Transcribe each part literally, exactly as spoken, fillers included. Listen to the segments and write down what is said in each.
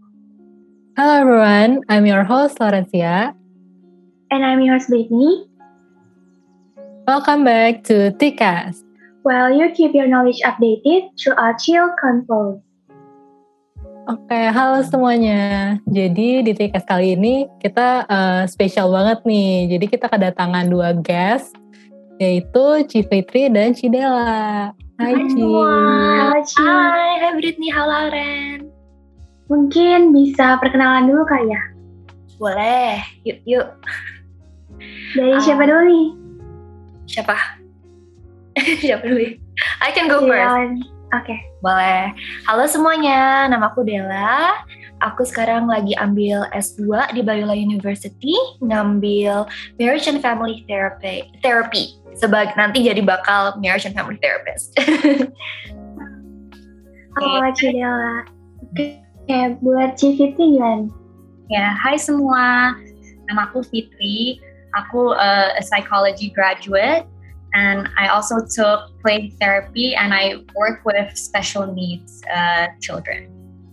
Hello everyone, I'm your host Laurencia. And I'm your host Brittany. Welcome back to T-Cast. Well, you keep your knowledge updated through our chill convo. Oke, halo semuanya. Jadi di T-Cast kali ini kita uh, spesial banget nih. Jadi kita kedatangan dua guest, yaitu Ci Fitri dan Ci Della. Hai Ci. Halo Ci. Hai, hai Brittany, halo Ren. Mungkin bisa perkenalan dulu kali ya? Boleh, yuk yuk. Dari Uh, siapa dulu nih? Siapa? Siapa dulu? I can go Iya, first. Oke. Okay. Boleh. Halo semuanya, namaku Della. Aku sekarang lagi ambil S dua di Biola University, ngambil Marriage and Family Therapy. Therapy. Sebagai nanti jadi bakal Marriage and Family Therapist. Halo Ci Della. Oke, okay. Buat Ci Fitri gimana? Ya, hai semua. Nama aku Fitri. Aku uh, a psychology graduate, and I also took play therapy, and I work with special needs uh, children.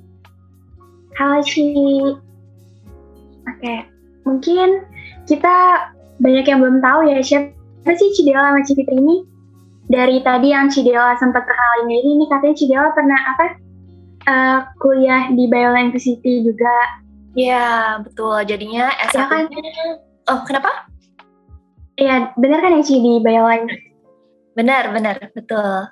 Halo Ci. Oke, okay. Mungkin kita banyak yang belum tahu ya siapa sih Ci Della sama Ci Fitri ini. Dari tadi yang Ci Della sempat perkenalin diri, ini katanya Ci Della pernah apa? Uh, kuliah di Biola University juga. Ya, betul. Jadinya S satu. Ya kan? Oh, kenapa? Iya, benar kan ya Ci di Biola? Benar, benar, betul.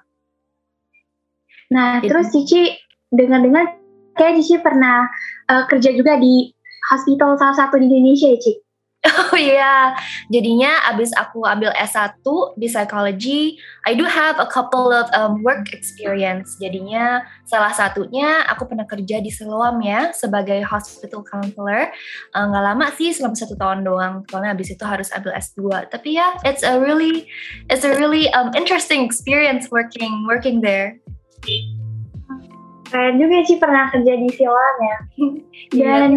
Nah, Jadi. terus Cici dengar-dengar kayak Cici pernah uh, kerja juga di hospital salah satu di Indonesia ya, Ci? Oh iya, jadinya abis aku ambil S satu di psychology, I do have a couple of um, work experience. Jadinya salah satunya aku pernah kerja di Siloam ya sebagai hospital counselor. Uh, Nggak lama sih, selama satu tahun doang. Soalnya abis itu harus ambil S dua. Tapi ya, it's a really, it's a really um, interesting experience working working there. Keren juga Ci pernah kerja di Siloam ya. Dan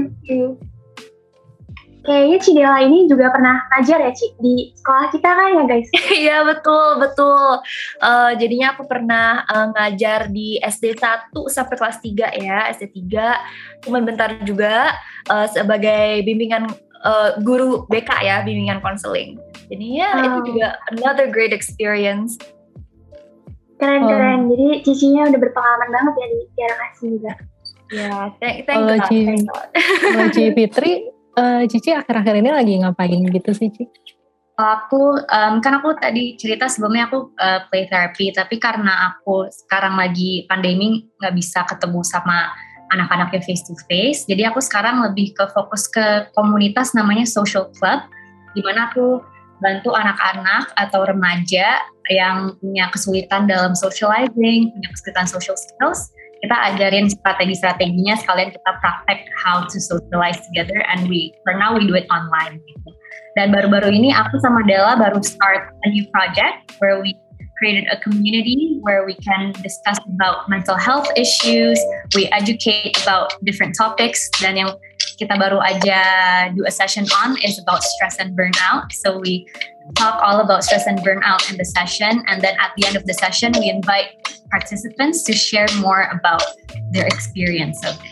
kayaknya Ci Della ini juga pernah ngajar ya Ci di sekolah kita kan ya guys? Iya betul betul. Uh, jadinya aku pernah uh, ngajar di S D satu sampai kelas tiga ya, S D tiga. Cuman bentar juga uh, sebagai bimbingan uh, guru B K ya, bimbingan konseling. Jadi ya oh. Itu juga another great experience. Keren-keren. Oh. Jadi Cicinya udah berpengalaman banget ya di Tiara Kasih juga. Ya, thank, thank Kalau God. Ci, kalau Ci Fitri, Uh, Cici akhir-akhir ini lagi ngapain gitu sih, Ci? Aku, um, kan aku tadi cerita sebelumnya aku uh, play therapy, tapi karena aku sekarang lagi pandemi nggak bisa ketemu sama anak-anaknya face to face, jadi aku sekarang lebih ke fokus ke komunitas namanya social club, di mana aku bantu anak-anak atau remaja yang punya kesulitan dalam socializing, punya kesulitan social skills. Kita ajarin strategi-strateginya, sekalian kita praktek how to socialize together, and we for now we do it online gitu. Dan baru-baru ini aku sama Della baru start a new project where we created a community where we can discuss about mental health issues, we educate about different topics, dan yang kita baru aja do a session on is about stress and burnout. So we talk all about stress and burnout in the session, and then at the end of the session we invite participants to share more about their experience of it.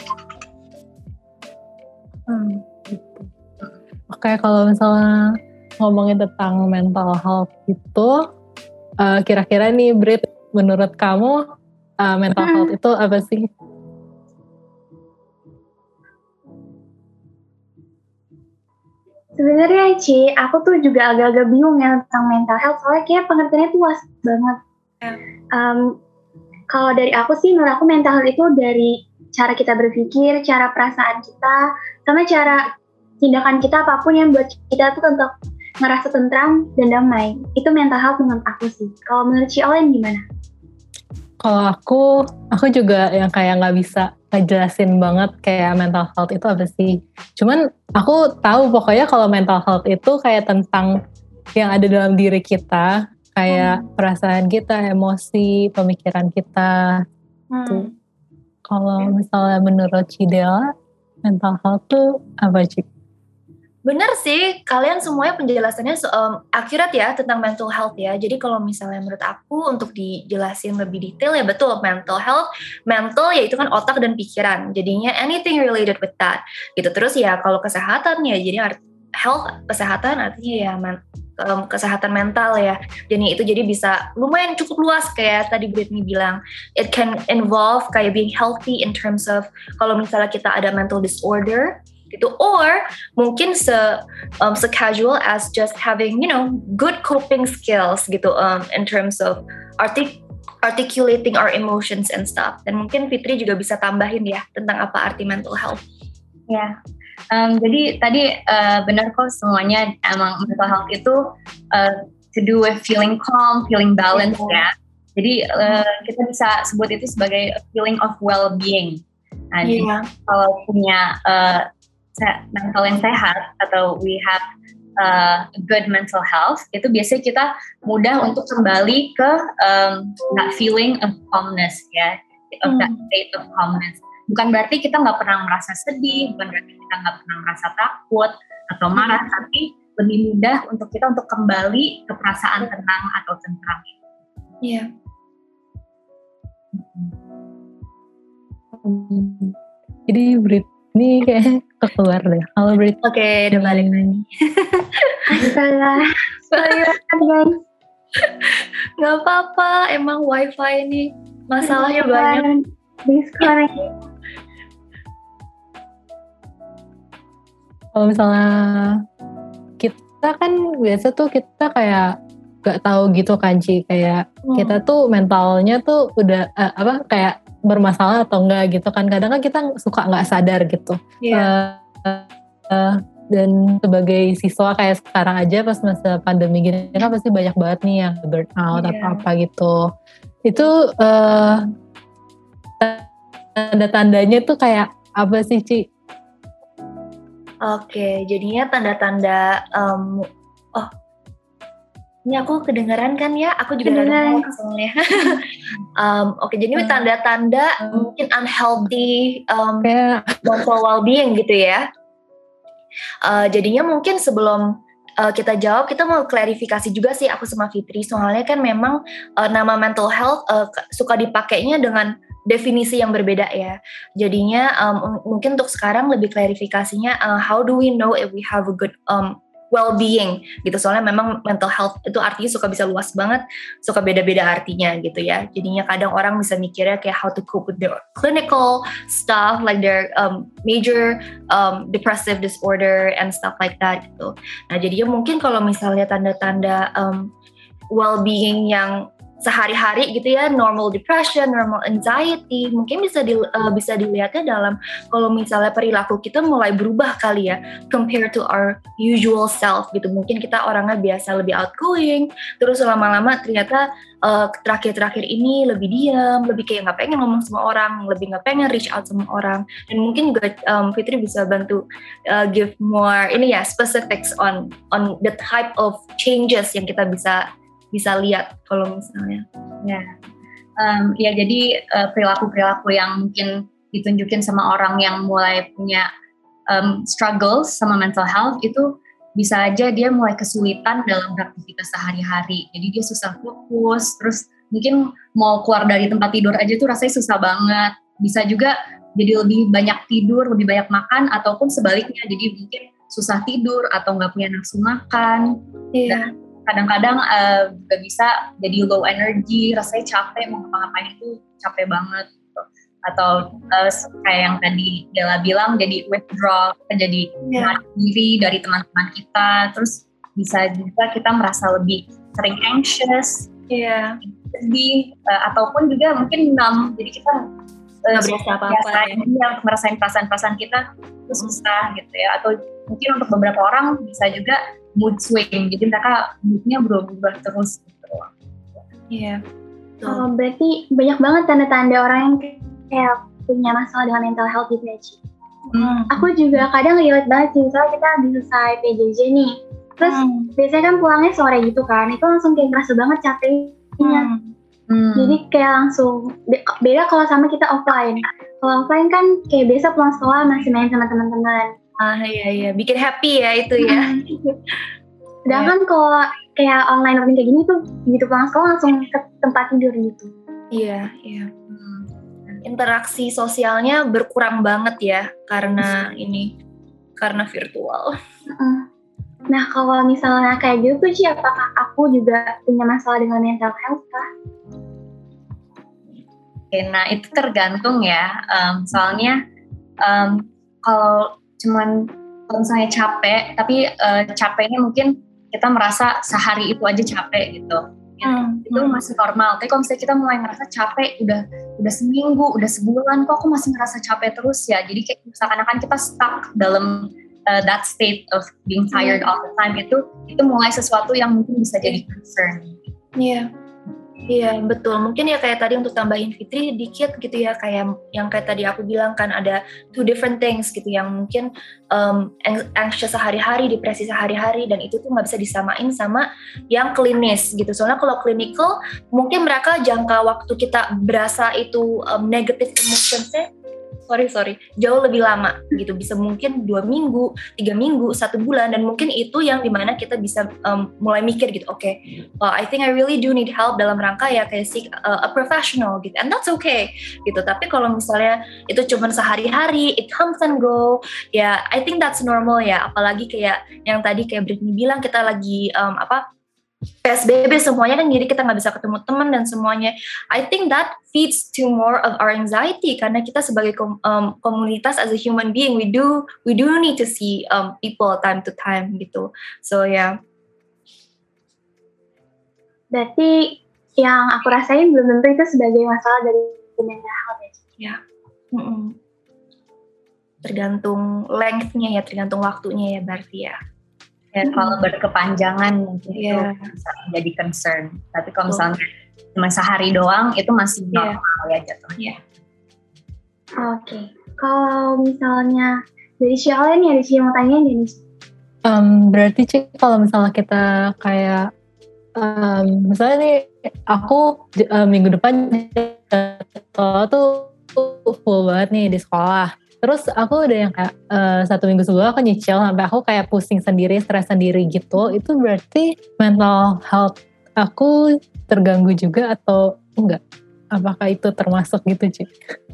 Hmm, gitu. Oke, kalau misalnya ngomongin tentang mental health itu, uh, kira-kira nih Brit, menurut kamu uh, mental hmm. health itu apa sih? Sebenarnya Ci, aku tuh juga agak-agak bingung ya tentang mental health, soalnya kayak pengertiannya tuh luas banget. Yeah. Um, kalau dari aku sih, menurut aku mental health itu dari cara kita berpikir, cara perasaan kita, sama cara tindakan kita apapun yang buat kita tuh untuk ngerasa tentram dan damai. Itu mental health menurut aku sih. Kalau menurut Ci Olen gimana? Kalau aku, aku juga yang kayak nggak bisa ngejelasin banget kayak mental health itu apa sih. Cuman aku tahu pokoknya kalau mental health itu kayak tentang yang ada dalam diri kita, kayak hmm. perasaan kita, emosi, pemikiran kita. Hmm. Tuh. Kalau misalnya menurut Ci Della, mental health tuh apa Ci? Bener sih, kalian semuanya penjelasannya um, akurat ya tentang mental health ya. Jadi kalau misalnya menurut aku untuk dijelasin lebih detail ya betul mental health, mental ya itu kan otak dan pikiran. Jadinya anything related with that. Gitu. Terus ya kalau kesehatan ya jadi art, health kesehatan artinya ya men, um, kesehatan mental ya. Jadi itu jadi bisa lumayan cukup luas kayak tadi Brittany bilang. It can involve kayak being healthy in terms of kalau misalnya kita ada mental disorder gitu, or mungkin se um, se casual as just having you know good coping skills gitu um, in terms of artic articulating our emotions and stuff. Dan mungkin Fitri juga bisa tambahin ya tentang apa arti mental health. Ya, um, jadi tadi uh, benar kok semuanya emang mental health itu uh, to do with feeling calm, feeling balanced yeah. ya. Jadi uh, kita bisa sebut itu sebagai a feeling of well-being. Nah, yeah. jadi kalau punya uh, mental yang sehat atau we have uh, good mental health, itu biasanya kita mudah untuk kembali ke um, that feeling of calmness ya, of that state of calmness. Bukan berarti kita nggak pernah merasa sedih, bukan berarti kita nggak pernah merasa takut atau marah, hmm. tapi lebih mudah untuk kita untuk kembali ke perasaan tenang atau tentram. Iya. Hmm. Jadi Brit ini kayak keluar deh. Halo Brit. Oke, okay, udah balik lagi. Astaga. Sorry guys. Gak apa-apa, emang wifi ini masalahnya banyak. Disconnect. Kalau misalnya kita kan biasa tuh kita kayak gak tahu gitu kan Ci, kayak hmm. kita tuh mentalnya tuh udah uh, apa kayak bermasalah atau enggak gitu kan, kadang kan kita suka nggak sadar gitu yeah. uh, uh, dan sebagai siswa kayak sekarang aja pas masa pandemi gini kan pasti banyak banget nih yang burn out yeah. atau apa gitu, itu uh, tanda-tandanya tuh kayak apa sih Ci? Oke, jadinya tanda-tanda um, oh ini aku kedengaran kan ya, aku juga rada ngomong soalnya. um, Oke, okay, jadi hmm. tanda-tanda hmm. mungkin unhealthy um, yeah. mental well-being gitu ya. Uh, jadinya mungkin sebelum uh, kita jawab, kita mau klarifikasi juga sih aku sama Fitri. Soalnya kan memang uh, nama mental health uh, suka dipakainya dengan definisi yang berbeda ya. Jadinya um, mungkin untuk sekarang lebih klarifikasinya, uh, how do we know if we have a good um, well-being gitu, soalnya memang mental health itu artinya suka bisa luas banget, suka beda-beda artinya gitu ya. Jadinya kadang orang bisa mikirnya kayak how to cope with their clinical stuff like their um, major um, depressive disorder and stuff like that gitu. Nah jadinya mungkin kalau misalnya tanda-tanda um, well-being yang sehari-hari gitu ya, normal depression, normal anxiety, mungkin bisa di, uh, bisa dilihatnya dalam kalau misalnya perilaku kita mulai berubah kali ya, compared to our usual self gitu. Mungkin kita orangnya biasa lebih outgoing, terus lama-lama ternyata uh, terakhir-terakhir ini lebih diam, lebih kayak nggak pengen ngomong sama orang, lebih nggak pengen reach out sama orang. Dan mungkin juga um, Fitri bisa bantu uh, give more ini ya specifics on on the type of changes yang kita bisa bisa lihat kalau misalnya ya um, ya jadi uh, perilaku-perilaku yang mungkin ditunjukin sama orang yang mulai punya um, struggles sama mental health itu bisa aja dia mulai kesulitan dalam beraktivitas sehari-hari, jadi dia susah fokus, terus mungkin mau keluar dari tempat tidur aja tuh rasanya susah banget. Bisa juga jadi lebih banyak tidur, lebih banyak makan, ataupun sebaliknya jadi mungkin susah tidur atau nggak punya nafsu makan. Iya. Dan kadang-kadang uh, juga bisa jadi low energy, rasanya capek, mau ngapa-ngapain itu capek banget gitu. Atau uh, kayak yang tadi Della bilang, jadi withdraw, kita jadi menarik yeah. diri dari teman-teman kita, terus bisa juga kita merasa lebih sering anxious, yeah. sedih, uh, ataupun juga mungkin numb, jadi kita nggak uh, berasa apa-apa ya. ya, untuk merasain perasaan-perasaan kita itu susah gitu ya. Atau mungkin untuk beberapa orang bisa juga mood swing, jadi mereka moodnya berubah terus gitu. Iya. Yeah. Oh, berarti banyak banget tanda-tanda orang yang kayak punya masalah dengan mental health gitu ya, Ci. Hmm. Aku juga kadang relate banget sih, soalnya kita habis selesai P J J nih, terus hmm. biasanya kan pulangnya sore gitu kan, itu langsung kayak ngerasa banget capeknya. Hmm. Hmm. Jadi kayak langsung beda kalau sama kita offline. Kalau offline kan kayak biasa pulang sekolah masih main sama teman-teman. Ah iya iya, bikin happy ya itu ya. Sedangkan yeah. kalau kayak online learning kayak gini tuh gitu pulang sekolah langsung ke tempat tidur gitu. Iya iya. Hmm. Interaksi sosialnya berkurang banget ya karena ini karena virtual. Uh. Nah kalau misalnya kayak gitu tuh Ci, apakah aku juga punya masalah dengan mental health kah? Oke, nah itu tergantung ya. Um, soalnya um, kalau cuman kalau misalnya capek, tapi uh, capeknya mungkin kita merasa sehari itu aja capek gitu. Hmm. Itu masih normal. Tapi kalau misalnya kita mulai ngerasa capek, udah udah seminggu, udah sebulan, kok aku masih ngerasa capek terus ya. Jadi kayak seakan-akan kita stuck dalam uh, that state of being tired hmm. all the time, itu itu mulai sesuatu yang mungkin bisa jadi concern. Iya. Yeah. Iya betul, mungkin ya kayak tadi untuk tambahin Fitri dikit gitu ya, kayak yang kayak tadi aku bilang kan ada two different things gitu yang mungkin um, anxious sehari-hari, depresi sehari-hari, dan itu tuh nggak bisa disamain sama yang klinis gitu. Soalnya kalau clinical mungkin mereka jangka waktu kita berasa itu um, negative emotionsnya sorry sorry jauh lebih lama gitu, bisa mungkin dua minggu, tiga minggu, satu bulan, dan mungkin itu yang dimana kita bisa um, mulai mikir gitu, oke, okay, well, I think I really do need help dalam rangka ya kayak seek uh, a professional gitu, and that's okay gitu. Tapi kalau misalnya itu cuma sehari-hari, it comes and go, ya I think that's normal ya. Apalagi kayak yang tadi kayak Brittany bilang, kita lagi um, apa P S B B semuanya kan, jadi kita nggak bisa ketemu teman dan semuanya. I think that feeds to more of our anxiety, karena kita sebagai kom- um, komunitas as a human being, we do we do need to see um, people time to time gitu. So ya. Yeah. Berarti yang aku rasain belum tentu itu sebagai masalah dari mental health ya. Ya. Mm-mm. Tergantung length-nya ya, tergantung waktunya ya berarti ya. Ya, hmm. kalau berkepanjangan mungkin yeah. itu bisa menjadi concern. Tapi kalau misalnya oh. cuma sehari doang, itu masih normal yeah. ya jatuhnya. Yeah. Oke, okay. Kalau misalnya dari siapa nih, ada siapa yang mau tanya nih? Um, berarti Cik, kalau misalnya kita kayak, um, misalnya nih aku uh, minggu depan jadwal tuh full banget nih di sekolah. Terus aku udah yang kayak uh, satu minggu sebelum aku nyicil sampai aku kayak pusing sendiri, stres sendiri gitu. Itu berarti mental health aku terganggu juga atau enggak? Apakah itu termasuk gitu, Cik?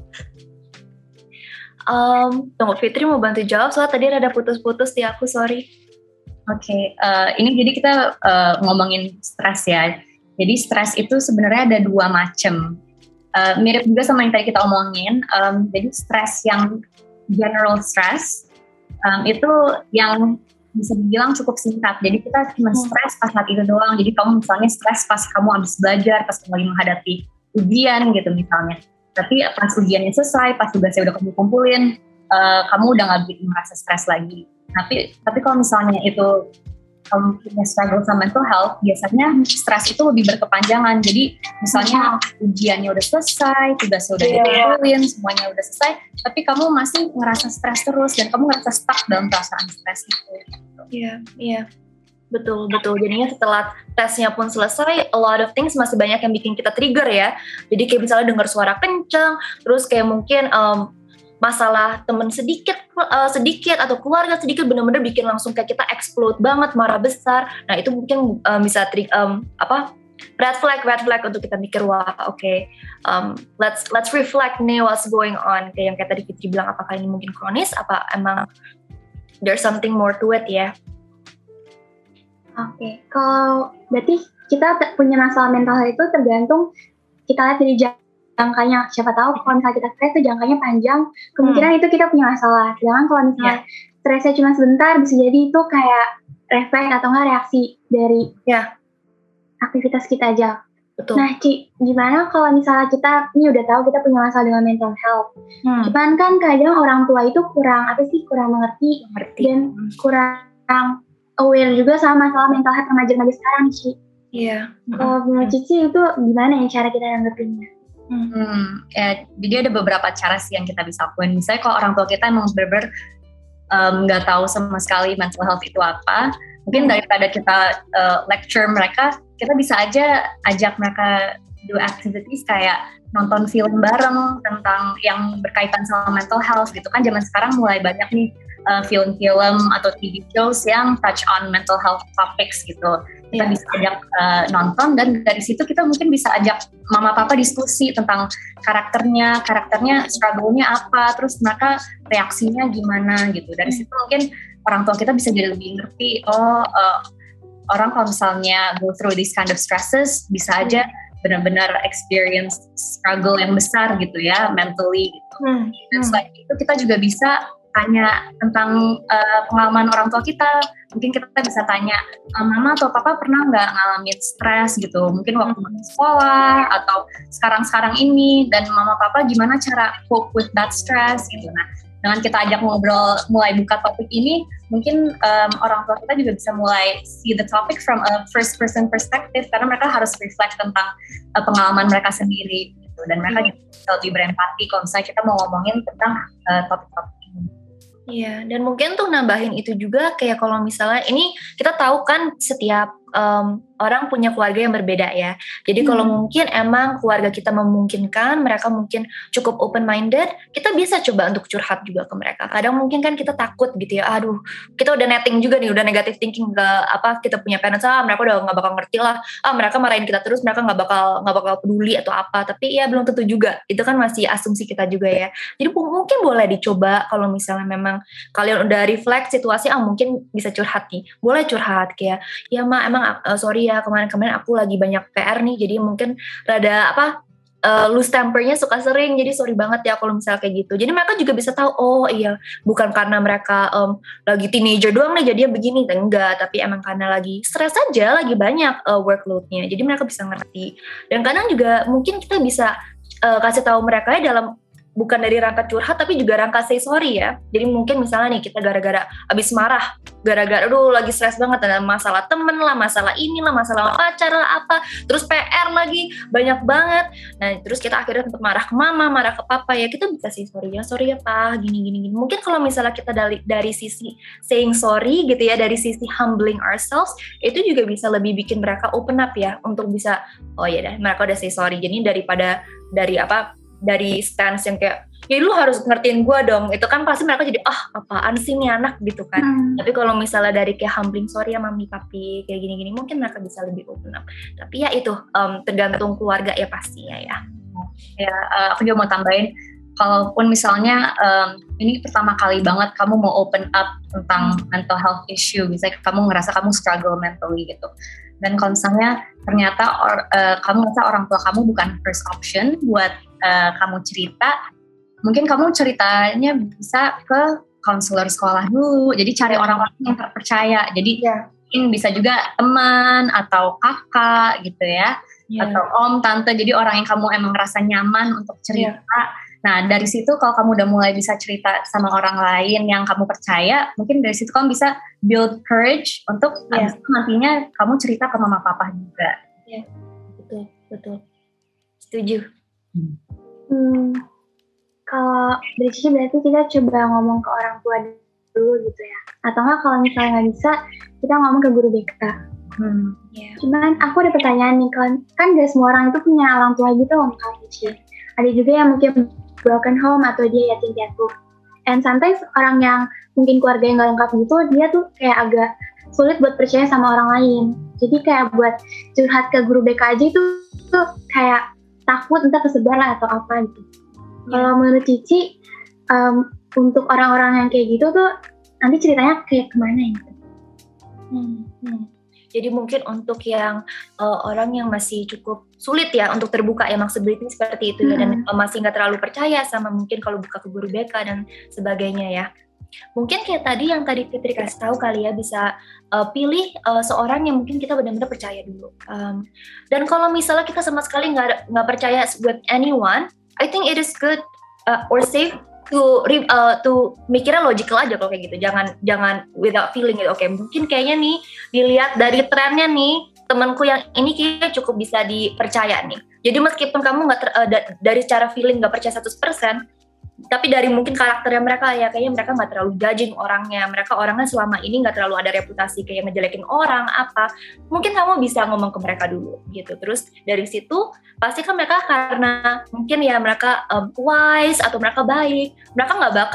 Um, tunggu, Fitri mau bantu jawab soalnya tadi ada putus-putus di aku, sorry. Oke, okay, uh, ini jadi kita uh, ngomongin stres ya. Jadi stres itu sebenarnya ada dua macam. Uh, mirip juga sama yang tadi kita omongin. Um, jadi stres yang general stress um, itu yang bisa dibilang cukup singkat. Jadi kita cuma stres pas saat itu doang. Jadi kamu misalnya stres pas kamu habis belajar, pas kamu lagi menghadapi ujian gitu misalnya. Tapi pas ujiannya selesai, pas tugasnya udah kamu kumpulin, uh, kamu udah nggak begitu merasa stres lagi. Tapi tapi kalau misalnya itu kamu punya struggle sama mental health, biasanya stres itu lebih berkepanjangan. Jadi misalnya ujiannya udah selesai, tugasnya udah dikumpulin, semuanya udah selesai, tapi kamu masih ngerasa stres terus dan kamu ngerasa stuck dalam perasaan stres itu. Iya, iya. Betul, betul. Jadinya setelah tesnya pun selesai, a lot of things masih banyak yang bikin kita trigger ya. Jadi kayak misalnya dengar suara kencang, terus kayak mungkin um, masalah teman sedikit uh, sedikit atau keluarga sedikit benar-benar bikin langsung kayak kita explode banget, marah besar. Nah itu mungkin um, bisa tri- um, apa red flag red flag untuk kita mikir, wah oke okay, um, let's let's reflect nih what's going on, kayak yang kayak tadi Fitri bilang, apakah ini mungkin kronis, apa emang there's something more to it ya. Oke, okay. Kalau berarti kita punya masalah mental health itu tergantung kita lihat dari jangkanya. Siapa tahu kalau misalnya kita stres itu jangkanya panjang, kemungkinan hmm. itu kita punya masalah. Sedangkan kalau misalnya yeah. stresnya cuma sebentar, bisa jadi itu kayak refleks atau enggak reaksi dari yeah. aktivitas kita aja. Betul. Nah, Ci, gimana kalau misalnya kita ini udah tahu kita punya masalah dengan mental health, hmm. cuman kan kadang orang tua itu kurang apa sih, kurang mengerti, mengerti. dan kurang aware juga sama masalah mental health remaja-remaja sekarang, Ci. Iya. Yeah. Kalau menurut Cici itu gimana ya cara kita nanggepinnya? Hmm, ya, jadi ada beberapa cara sih yang kita bisa lakuin. Misalnya kalau orang tua kita emang bener-bener nggak um, tahu sama sekali mental health itu apa, mungkin daripada kita uh, lecture mereka, kita bisa aja ajak mereka do activities kayak nonton film bareng tentang yang berkaitan sama mental health gitu kan. Zaman sekarang mulai banyak nih uh, film-film atau T V shows yang touch on mental health topics gitu. Kita yeah. bisa ajak uh, nonton, dan dari situ kita mungkin bisa ajak mama papa diskusi tentang karakternya, karakternya struggle-nya apa, terus mereka reaksinya gimana gitu. Dari situ mungkin orang tua kita bisa jadi lebih ngerti, oh uh, orang kalau misalnya go through these kind of stresses bisa aja benar-benar experience struggle yang besar gitu ya, mentally gitu. Hmm. Dan selain itu kita juga bisa tanya tentang uh, pengalaman orang tua kita. Mungkin kita bisa tanya, mama atau papa pernah nggak ngalamin stres gitu, mungkin waktu hmm. sekolah atau sekarang-sekarang ini, dan mama papa gimana cara cope with that stress gitu. Nah, dengan kita ajak ngobrol, mulai buka topik ini, mungkin um, orang tua kita juga bisa mulai see the topic from a first person perspective, karena mereka harus reflect tentang uh, pengalaman mereka sendiri gitu. Dan mereka juga bisa lebih berempati kalau misalnya kita mau ngomongin tentang uh, topik-topik ini. Iya, dan mungkin tuh nambahin itu juga, kayak kalau misalnya ini kita tahu kan setiap um, orang punya keluarga yang berbeda ya. Jadi hmm. kalau mungkin emang keluarga kita memungkinkan, mereka mungkin cukup open minded, kita bisa coba untuk curhat juga ke mereka. Kadang mungkin kan kita takut gitu ya, aduh kita udah netting juga nih, udah negative thinking ke apa kita punya parents, ah mereka udah nggak bakal ngerti lah, ah mereka marahin kita terus, mereka nggak bakal nggak bakal peduli atau apa. Tapi ya belum tentu juga, itu kan masih asumsi kita juga ya. Jadi mungkin boleh dicoba kalau misalnya memang kalian udah reflect situasi, ah mungkin bisa curhat nih, boleh curhat kayak, ya ma emang uh, sorry ya kemarin-kemarin aku lagi banyak P R nih, jadi mungkin rada apa uh, loose tempernya suka sering, jadi sorry banget ya kalau misalnya kayak gitu. Jadi mereka juga bisa tahu, oh iya bukan karena mereka um, lagi teenager doang nih jadinya begini, enggak, tapi emang karena lagi stres aja, lagi banyak uh, workload-nya, jadi mereka bisa ngerti. Dan kadang juga mungkin kita bisa uh, kasih tahu mereka ya dalam bukan dari rangka curhat tapi juga rangka say sorry ya. Jadi mungkin misalnya nih kita gara-gara abis marah, gara-gara aduh lagi stres banget, ada masalah temen lah, masalah inilah, masalah pacar lah apa, terus P R lagi banyak banget. Nah terus kita akhirnya tempat marah ke mama, marah ke papa, ya kita bisa say sorry ya, sorry ya pa, gini gini gini. Mungkin kalau misalnya kita dari dari sisi saying sorry gitu ya, dari sisi humbling ourselves, itu juga bisa lebih bikin mereka open up ya untuk bisa, oh ya dah mereka udah say sorry. Jadi daripada dari apa dari stance yang kayak, ya lu harus ngertiin gue dong, itu kan pasti mereka jadi, ah apaan sih nih anak gitu kan. Hmm. Tapi kalau misalnya dari kayak humbling, sorry ya mami papi, kayak gini-gini, mungkin mereka bisa lebih open up. Tapi ya itu, um, tergantung keluarga ya pastinya ya. Ya, uh, aku juga mau tambahin, kalaupun misalnya um, ini pertama kali banget kamu mau open up tentang mental health issue, misalnya kamu ngerasa kamu struggle mentally gitu, dan kalau misalnya ternyata or, uh, kamu ngerasa orang tua kamu bukan first option buat uh, kamu cerita, mungkin kamu ceritanya bisa ke konselor sekolah dulu, jadi cari orang-orang yang terpercaya, jadi yeah. mungkin bisa juga teman atau kakak gitu ya, yeah. atau om, tante, jadi orang yang kamu emang ngerasa nyaman untuk cerita. Yeah. Nah dari situ kalau kamu udah mulai bisa cerita sama orang lain yang kamu percaya, mungkin dari situ kamu bisa build courage untuk yeah. nantinya kamu cerita ke mama papa juga. Iya, yeah. betul, betul. Setuju. Hmm. Hmm, kalau dari sini berarti kita coba ngomong ke orang tua dulu gitu ya. Atau enggak kalau misalnya nggak bisa, kita ngomong ke guru B K. Hmm. Yeah. Cuman aku ada pertanyaan nih, kan, kan gak semua orang itu punya orang tua gitu loh, Kak Cici. Ada juga yang mungkin broken home atau dia yatim piatu. And sometimes orang yang mungkin keluarga yang gak lengkap gitu, dia tuh kayak agak sulit buat percaya sama orang lain. Jadi kayak buat curhat ke guru B K aja itu tuh kayak takut entah kesebar lah atau apa gitu. Yeah. Kalau menurut Cici, um, untuk orang-orang yang kayak gitu tuh nanti ceritanya kayak kemana gitu? Hmm, hmm. Jadi mungkin untuk yang uh, orang yang masih cukup sulit ya untuk terbuka ya, maksudnya seperti itu ya, dan uh, masih nggak terlalu percaya sama mungkin kalau buka ke guru B K dan sebagainya ya. Mungkin kayak tadi yang tadi Fitri kasih tahu kali ya, bisa uh, pilih uh, seorang yang mungkin kita benar-benar percaya dulu. Um, dan kalau misalnya kita sama sekali nggak nggak percaya with anyone, I think it is good uh, or safe to uh, to mikirnya logical aja kalau kayak gitu. Jangan jangan without feeling gitu. Oke, okay, mungkin kayaknya nih dilihat dari trennya nih, temanku yang ini kayaknya cukup bisa dipercaya nih. Jadi meskipun kamu nggak uh, da- dari cara feeling nggak percaya seratus persen, tapi dari mungkin karakternya mereka ya kayaknya mereka nggak terlalu judging orangnya, mereka orangnya selama ini nggak terlalu ada reputasi kayak ngejelekin orang apa, mungkin kamu bisa ngomong ke mereka dulu gitu. Terus dari situ pasti kan mereka karena mungkin ya mereka um, wise atau mereka baik, mereka nggak bakal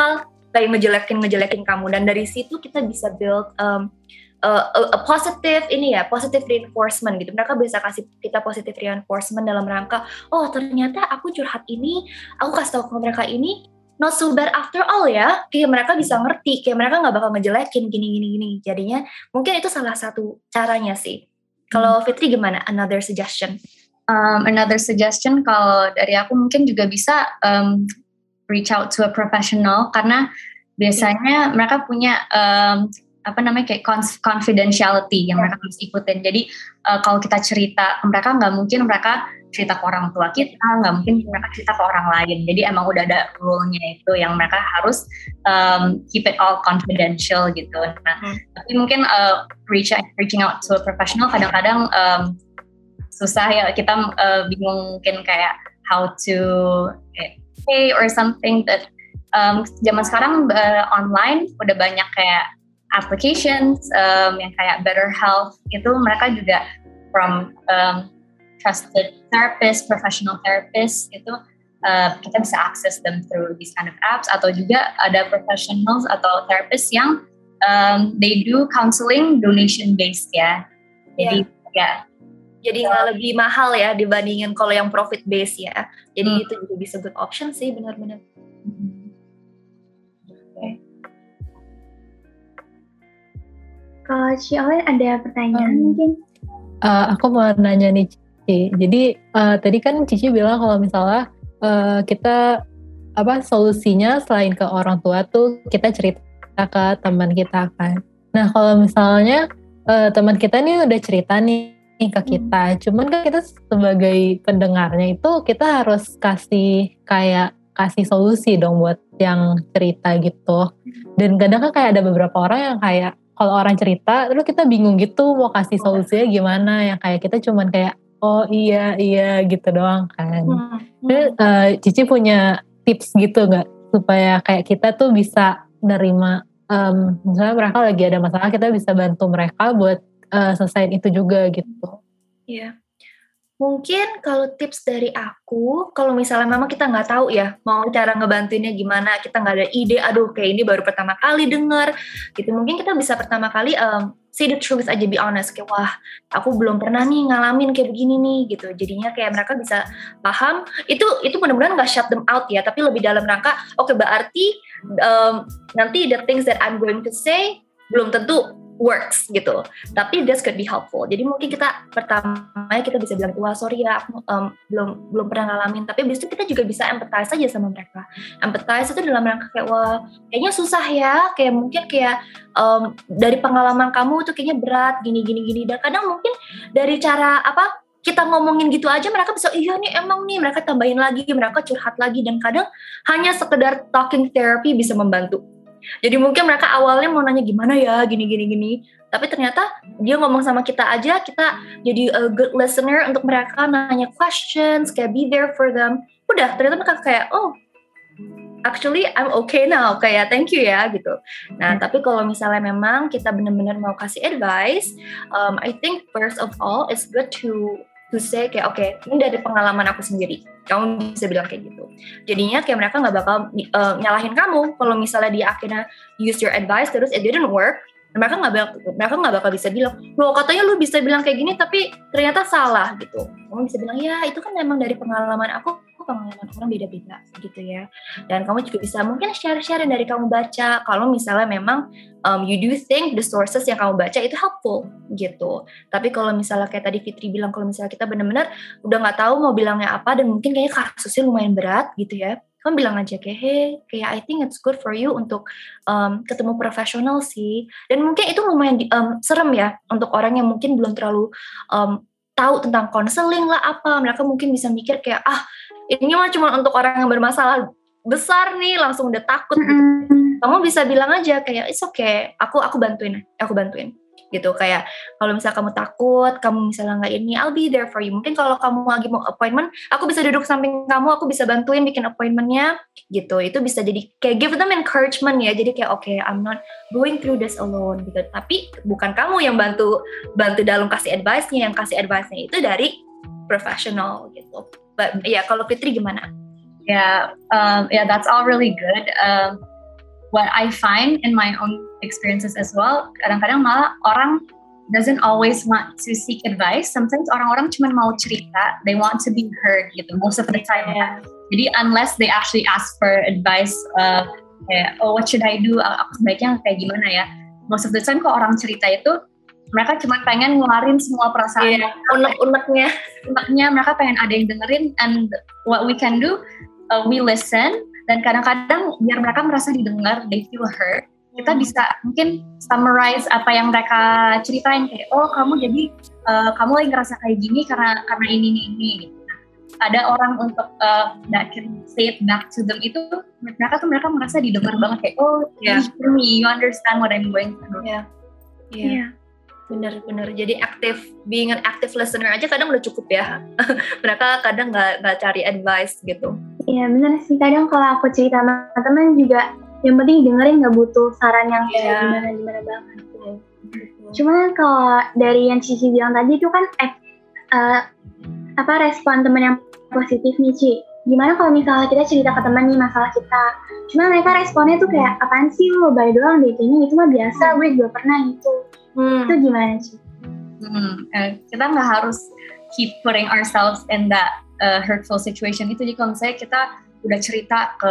kayak ngejelekin ngejelekin kamu, dan dari situ kita bisa build um, uh, a, a positive ini ya, positive reinforcement gitu. Mereka bisa kasih kita positive reinforcement dalam rangka, oh ternyata aku curhat ini, aku kasih tahu ke mereka ini not so bad after all ya, kayak mereka bisa ngerti, kayak mereka nggak bakal ngejelekin gini-gini-gini. Jadinya mungkin itu salah satu caranya sih. Kalau Fitri gimana? Another suggestion? Um, another suggestion kalau dari aku mungkin juga bisa um, reach out to a professional, karena biasanya mereka punya um, apa namanya kayak confidentiality yang mereka harus ikutin. Jadi uh, kalau kita cerita ke mereka, nggak mungkin mereka cerita ke orang tua kita, nggak mungkin mereka cerita ke orang lain. Jadi emang udah ada rule-nya itu yang mereka harus um, keep it all confidential gitu. Nah, hmm. tapi mungkin uh, reach, reaching out to a professional kadang-kadang um, susah ya, kita uh, bingung mungkin kayak how to pay or something. That um, zaman sekarang uh, online udah banyak kayak applications um, yang kayak Better Health itu, mereka juga from um, trusted therapist, professional therapist itu uh, kita bisa access them through these kind of apps, atau juga ada professionals atau therapist yang um, they do counseling donation based ya. Jadi yeah. ya jadi nggak so, lebih mahal ya dibandingin kalau yang profit based ya. Jadi hmm. itu juga bisa good option sih, benar-benar. Hmm. Okay. Kalau Ci Olin ada pertanyaan hmm. mungkin? Uh, aku mau nanya nih Cici. Jadi uh, tadi kan Cici bilang kalau misalnya uh, kita apa solusinya selain ke orang tua tuh kita cerita ke teman kita kan. Nah kalau misalnya uh, teman kita nih udah cerita nih ke kita, hmm. cuman kan kita sebagai pendengarnya itu kita harus kasih kayak kasih solusi dong buat yang cerita gitu. Dan kadang kan kayak ada beberapa orang yang kayak kalau orang cerita terus kita bingung gitu mau kasih solusinya gimana, yang kayak kita cuman kayak oh iya iya gitu doang kan. Hmm. Terus uh, Cici punya tips gitu nggak supaya kayak kita tuh bisa nerima um, misalnya mereka lagi ada masalah, kita bisa bantu mereka buat Uh, selesaiin itu juga gitu. Iya. Mungkin kalau tips dari aku, kalau misalnya memang kita nggak tahu ya mau cara ngebantuinnya gimana, kita nggak ada ide, aduh kayak ini baru pertama kali denger gitu, mungkin kita bisa pertama kali um, say the truth aja, be honest, kayak wah aku belum pernah nih ngalamin kayak begini nih gitu. Jadinya kayak mereka bisa paham, itu itu benar-benar nggak shut them out ya, tapi lebih dalam rangka oke okay, berarti um, nanti the things that I'm going to say belum tentu works gitu, tapi this could be helpful. Jadi mungkin kita pertamanya kita bisa bilang wah sorry ya aku um, belum belum pernah ngalamin, tapi abis itu kita juga bisa empathize aja sama mereka. Empathize itu dalam rangka kayak wah kayaknya susah ya, kayak mungkin kayak um, dari pengalaman kamu itu kayaknya berat gini gini gini, dan kadang mungkin dari cara apa kita ngomongin gitu aja mereka bisa iya nih emang nih, mereka tambahin lagi, mereka curhat lagi, dan kadang hanya sekedar talking therapy bisa membantu. Jadi mungkin mereka awalnya mau nanya gimana ya gini-gini-gini, tapi ternyata dia ngomong sama kita aja, kita jadi a good listener untuk mereka nanya questions, kayak be there for them. Udah, ternyata mereka kayak oh actually I'm okay now, kayak thank you ya gitu. Nah tapi kalau misalnya memang kita benar-benar mau kasih advice, um, I think first of all it's good to to say kayak oke okay, ini dari pengalaman aku sendiri, kamu bisa bilang kayak gitu. Jadinya kayak mereka nggak bakal uh, nyalahin kamu kalau misalnya dia akhirnya use your advice terus it didn't work. Mereka nggak bakal mereka nggak bakal bisa bilang loh katanya lu bisa bilang kayak gini tapi ternyata salah gitu. Kamu bisa bilang ya itu kan memang dari pengalaman aku, pengalaman orang beda-beda gitu ya. Dan kamu juga bisa mungkin share-share dari kamu baca kalau misalnya memang um, you do think the sources yang kamu baca itu helpful gitu. Tapi kalau misalnya kayak tadi Fitri bilang kalau misalnya kita benar-benar udah nggak tahu mau bilangnya apa dan mungkin kayaknya kasusnya lumayan berat gitu ya, kamu bilang aja kayak hey kayak I think it's good for you untuk um, ketemu profesional sih. Dan mungkin itu lumayan di, um, serem ya untuk orang yang mungkin belum terlalu um, tahu tentang konseling lah apa. Mereka mungkin bisa mikir kayak ah ini mah cuma untuk orang yang bermasalah besar nih, langsung udah takut gitu. Mm. Kamu bisa bilang aja kayak it's okay, aku aku bantuin, aku bantuin gitu. Kayak kalau misalnya kamu takut, kamu misalnya nggak ini, I'll be there for you. Mungkin kalau kamu lagi mau appointment, aku bisa duduk samping kamu, aku bisa bantuin bikin appointmentnya gitu. Itu bisa jadi kayak give them encouragement ya. Jadi kayak oke, okay, I'm not going through this alone gitu. Tapi bukan kamu yang bantu bantu dalam kasih advice-nya, yang kasih advice-nya itu dari professional gitu. But ya yeah, kalau Fitri gimana? Ya, yeah, um, yeah, that's all really good. Um, what I find in my own experiences as well, kadang-kadang malah orang doesn't always want to seek advice. Sometimes orang-orang cuma mau cerita, they want to be heard gitu most of the time. Yeah. Jadi unless they actually ask for advice, uh, kayak oh what should I do, aku sebaiknya kayak gimana ya, most of the time kok orang cerita itu mereka cuma pengen ngeluarin semua perasaan, yeah, unek-uneknya uneknya mereka pengen ada yang dengerin. And what we can do, uh, we listen, dan kadang-kadang biar mereka merasa didengar, they feel heard, kita hmm. bisa mungkin summarize apa yang mereka ceritain, kayak oh kamu jadi uh, kamu lagi ngerasa kayak gini karena karena ini ini ini gitu. Ada orang untuk uh, that can say it back to them, itu mereka tuh mereka merasa didengar banget, kayak oh yeah. you hear me, you understand what I'm going through. Yeah. Yeah. Yeah. Bener-bener, jadi aktif, being an active listener aja kadang udah cukup ya. Mereka kadang nggak nggak cari advice gitu. Iya bener sih, kadang kalau aku cerita sama teman juga yang penting dengerin, nggak butuh saran yang kayak yeah. gimana-gimana banget. Gitu. Cuman kalau dari yang Cici bilang tadi itu kan eh, uh, apa respon teman yang positif nih Ci. Gimana kalau misalnya kita cerita ke teman nih masalah kita, cuma mereka responnya tuh kayak apaan sih lo lebay doang deh, kayaknya itu mah biasa, gue juga pernah gitu. Hmm. Itu gimana Ci? Hmm, eh, kita nggak harus keep putting ourselves in that uh, hurtful situation itu. Jadi kalau misalnya kita udah cerita ke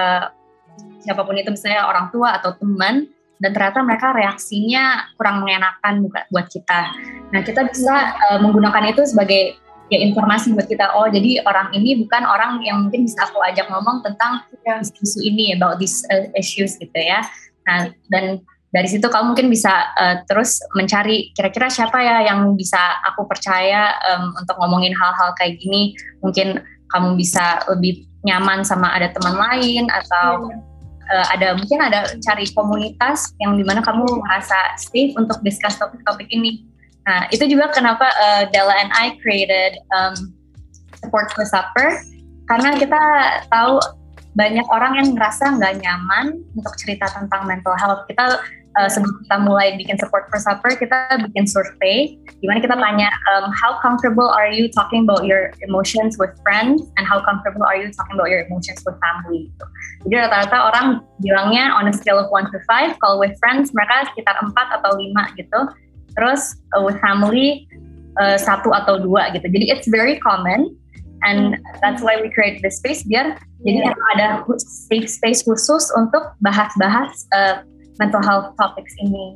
siapapun itu, misalnya orang tua atau teman, dan ternyata mereka reaksinya kurang mengenakan buat kita, nah kita bisa uh, menggunakan itu sebagai ya informasi buat kita. Oh jadi orang ini bukan orang yang mungkin bisa aku ajak ngomong tentang yeah. isu ini, about these uh, issues gitu ya. Nah dan dari situ kamu mungkin bisa uh, terus mencari kira-kira siapa ya yang bisa aku percaya um, untuk ngomongin hal-hal kayak gini. Mungkin kamu bisa lebih nyaman sama ada teman lain, atau uh, ada mungkin ada cari komunitas yang dimana kamu merasa safe untuk discuss topik-topik ini. Nah itu juga kenapa uh, Della and I created um, Support for Supper, karena kita tahu banyak orang yang ngerasa nggak nyaman untuk cerita tentang mental health. Kita uh, sebelum kita mulai bikin Support for Supper, kita bikin survey di mana kita tanya um, how comfortable are you talking about your emotions with friends, and how comfortable are you talking about your emotions with family gitu. Jadi rata-rata orang bilangnya on a scale of one to five, kalau with friends mereka sekitar empat atau lima gitu. Terus uh, with family uh, satu atau dua gitu. Jadi it's very common, and that's why we create this space, biar yeah. jadi ada safe space khusus untuk bahas-bahas uh, mental health topics ini.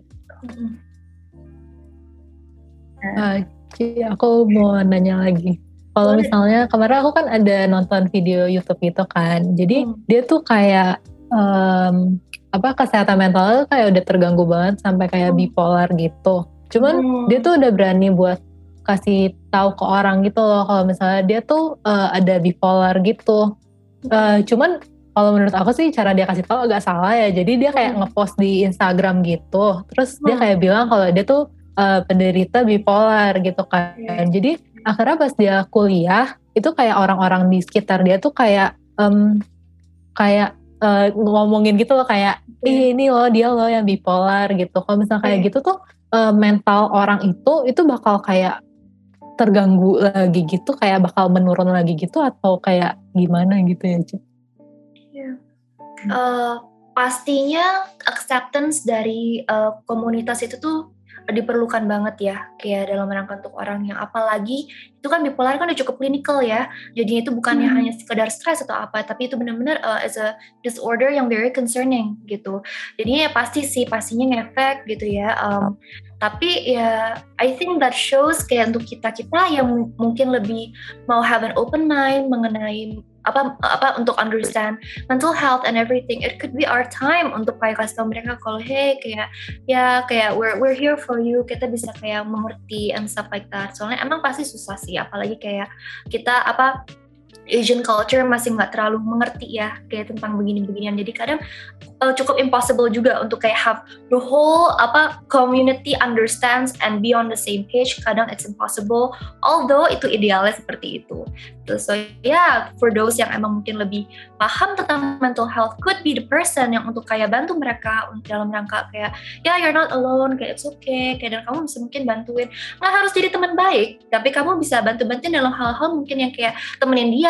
Uh, aku mau nanya lagi. Kalau misalnya kemarin aku kan ada nonton video YouTube gitu kan, jadi hmm. dia tuh kayak um, apa kesehatan mentalnya tuh kayak udah terganggu banget sampai kayak hmm. bipolar gitu. Cuman hmm. dia tuh udah berani buat kasih tahu ke orang gitu loh kalau misalnya dia tuh uh, ada bipolar gitu. Uh, cuman kalau menurut aku sih cara dia kasih tahu agak salah ya. Jadi dia kayak hmm. ngepost di Instagram gitu. Terus hmm. dia kayak bilang kalau dia tuh uh, penderita bipolar gitu kan. Hmm. Jadi akhirnya pas dia kuliah itu kayak orang-orang di sekitar dia tuh kayak um, kayak uh, ngomongin gitu loh, kayak ih ini loh dia loh yang bipolar gitu. Kalau misalnya kayak hmm. gitu tuh Uh, mental orang itu itu bakal kayak terganggu lagi gitu, kayak bakal menurun lagi gitu, atau kayak gimana gitu ya Cik? Yeah. Uh, pastinya acceptance dari uh, komunitas itu tuh diperlukan banget ya, kayak dalam rangka untuk orang yang apalagi itu kan bipolar kan udah cukup klinikal ya, jadi itu bukannya hmm. hanya sekedar stres atau apa, tapi itu benar-benar uh, as a disorder yang very concerning gitu. Jadi ya pasti sih pastinya ngefek gitu ya. Um, tapi ya I think that shows kayak untuk kita-kita yang m- mungkin lebih mau have an open mind mengenai apa apa untuk understand mental health and everything, it could be our time untuk kayak kasih tau mereka kalau hey kayak ya kayak we're we're here for you, kita bisa kayak mengerti and stuff like that. Soalnya emang pasti susah sih, apalagi kayak kita apa Asian culture masih nggak terlalu mengerti ya kayak tentang begini-beginian, jadi kadang uh, cukup impossible juga untuk kayak have the whole apa community understands and be on the same page. Kadang it's impossible, although itu idealnya seperti itu. So yeah, for those yang emang mungkin lebih paham tentang mental health could be the person yang untuk kayak bantu mereka dalam rangka kayak ya yeah, you're not alone, kayak it's okay, kayak dan kamu bisa mungkin bantuin, nggak harus jadi teman baik, tapi kamu bisa bantu-bantuin dalam hal-hal mungkin yang kayak temenin dia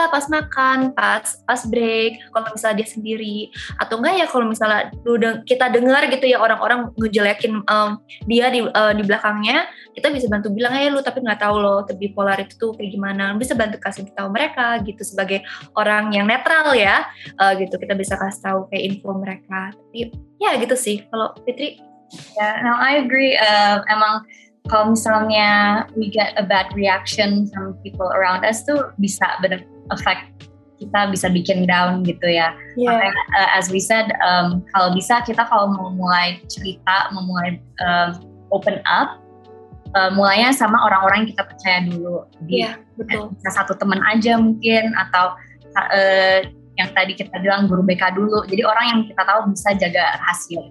dia pas makan, pas pas break, kalau misalnya dia sendiri, atau enggak ya kalau misalnya kita dengar gitu ya orang-orang ngejelekin um, dia di uh, di belakangnya, kita bisa bantu bilang, eh lu tapi nggak tahu loh bipolar itu tuh kayak gimana, bisa bantu kasih tahu mereka gitu sebagai orang yang netral ya, uh, gitu kita bisa kasih tahu kayak info mereka. Tapi ya gitu sih kalau Fitri. Ya, yeah, no, I agree. Uh, emang kalau misalnya we get a bad reaction from people around us tuh bisa benar affect kita, bisa bikin down gitu ya. Yeah. Makanya, uh, as we said, um, kalau bisa kita kalau mau mulai cerita, mau mulai um, open up, uh, mulainya sama orang-orang yang kita percaya dulu. Di, yeah, betul. Bisa satu teman aja mungkin, atau uh, yang tadi kita bilang guru B K dulu. Jadi orang yang kita tahu bisa jaga rahasia.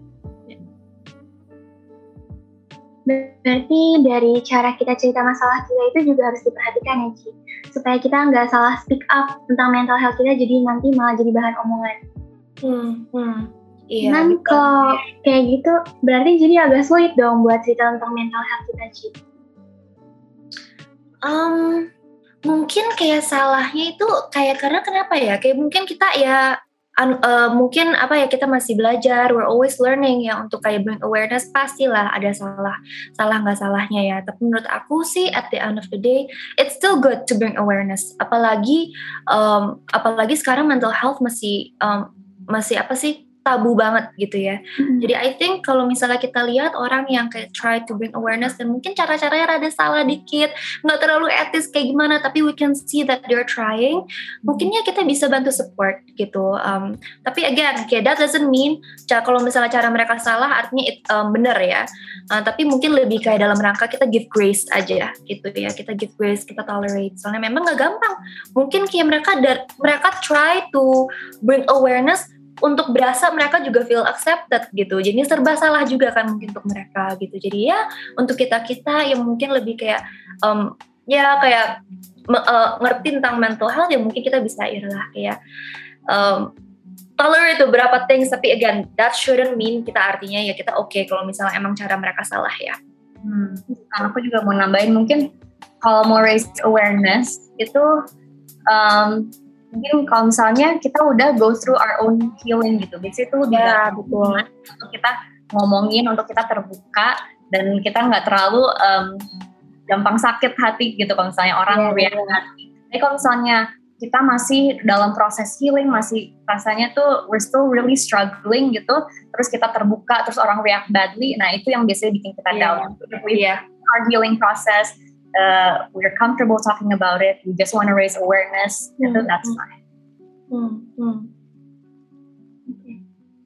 Berarti dari cara kita cerita masalah kita itu juga harus diperhatikan ya Ci, supaya kita nggak salah speak up tentang mental health kita, jadi nanti malah jadi bahan omongan. Hmm, hmm. Iya. Dan kalau kayak gitu berarti jadi agak sulit dong buat cerita tentang mental health kita Ci. Um, mungkin kayak salahnya itu kayak karena kenapa ya? Kayak mungkin kita ya Un, uh, mungkin apa ya kita masih belajar, we're always learning ya, untuk kayak bring awareness pastilah ada salah salah nggak salahnya ya. Tapi menurut aku sih at the end of the day it's still good to bring awareness, apalagi um, apalagi sekarang mental health masih um, masih apa sih tabu banget gitu ya. Mm-hmm. Jadi I think kalau misalnya kita lihat orang yang kayak try to bring awareness dan mungkin cara-caranya rada salah dikit, nggak terlalu etis kayak gimana, tapi we can see that they're trying, mm-hmm. mungkinnya kita bisa bantu support gitu. Um, tapi again, kayak that doesn't mean cara, kalau misalnya cara mereka salah artinya it, um, benar ya. Uh, tapi mungkin lebih kayak dalam rangka kita give grace aja gitu ya. Kita give grace, kita tolerate. Soalnya memang nggak gampang. Mungkin kayak mereka dar, mereka try to bring awareness untuk berasa mereka juga feel accepted gitu. Jadi serba salah juga kan mungkin untuk mereka gitu. Jadi ya untuk kita-kita yang mungkin lebih kayak um, ya kayak uh, ngerti tentang mental health ya mungkin kita bisa irilah kayak um, tolerate beberapa things, tapi again that shouldn't mean kita artinya ya kita oke okay kalau misalnya emang cara mereka salah ya. Hmm. Aku juga mau nambahin mungkin kalau mau raise awareness itu um, mungkin kalau misalnya kita udah go through our own healing gitu, biasanya itu udah ya, betul. Untuk kita ngomongin, untuk kita terbuka dan kita nggak terlalu um, gampang sakit hati gitu kalau misalnya orang yeah, react hati. Tapi kalau misalnya kita masih dalam proses healing, masih rasanya tuh we're still really struggling gitu, terus kita terbuka, terus orang react badly, nah itu yang biasanya bikin kita yeah, down. We yeah. our healing process. Uh, we're comfortable talking about it. We just want to raise awareness. Hmm. Itu that's fine. Hmm. Hmm. Okay.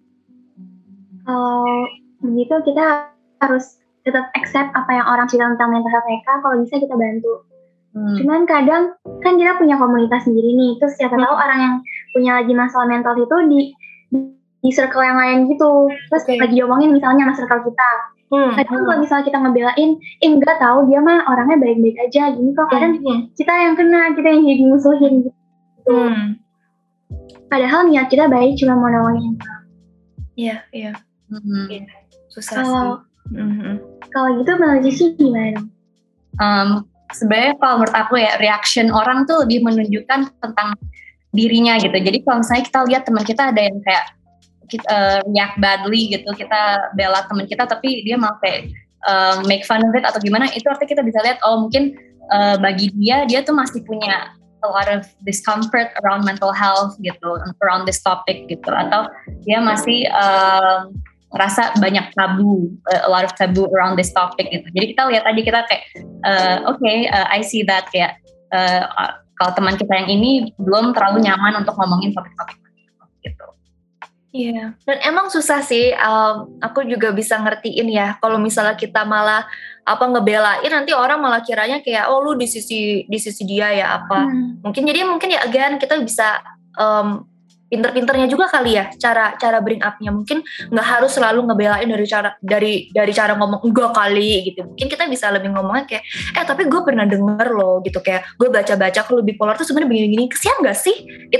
Kalau begitu kita harus tetap accept apa yang orang cerita tentang mental health mereka. Kalau bisa kita bantu. Hmm. Cuman kadang kan kita punya komunitas sendiri nih. Terus siapa hmm. tahu orang yang punya lagi masalah mental itu di di circle yang lain gitu. Terus okay. lagi diomongin misalnya sama circle kita. Hmm. Kadang kalau misalnya kita ngebelain, eh enggak tahu dia mah orangnya baik-baik aja gini kok. Kadang hmm. kita yang kena, kita yang jadi musuhin gitu. Hmm. Padahal niat kita baik, cuma mau nolongin. Iya, iya. Mm-hmm. Susah kalo, sih. Mm-hmm. Kalau gitu menurut Cici gimana? Um, sebenarnya kalau menurut aku ya reaction orang tuh lebih menunjukkan tentang dirinya gitu. Jadi kalau misalnya kita lihat teman kita ada yang kayak kita uh, react badly gitu, kita bela teman kita tapi dia malah kayak uh, make fun of it atau gimana, itu artinya kita bisa lihat oh mungkin uh, bagi dia dia tuh masih punya a lot of discomfort around mental health gitu, around this topic gitu, atau dia masih uh, rasa banyak tabu, uh, a lot of tabu around this topic gitu. Jadi kita lihat aja, kita kayak uh, oke okay, uh, I see that kayak uh, uh, kalau teman kita yang ini belum terlalu nyaman untuk ngomongin topik-topik gitu. Iya, yeah. Dan emang susah sih. Um, aku juga bisa ngertiin ya. Kalau misalnya kita malah apa ngebelain, nanti orang malah kiranya kayak oh lu di sisi di sisi dia ya apa. Hmm. Mungkin jadi mungkin ya again kita bisa um, pinter-pinternya juga kali ya cara cara bring up-nya. Mungkin nggak harus selalu ngebelain dari cara dari dari cara ngomong enggak kali gitu. Mungkin kita bisa lebih ngomongnya kayak eh tapi gue pernah denger loh gitu, kayak gue baca-baca kalau bipolar tuh sebenarnya begini-gini. Kesian nggak sih? Kita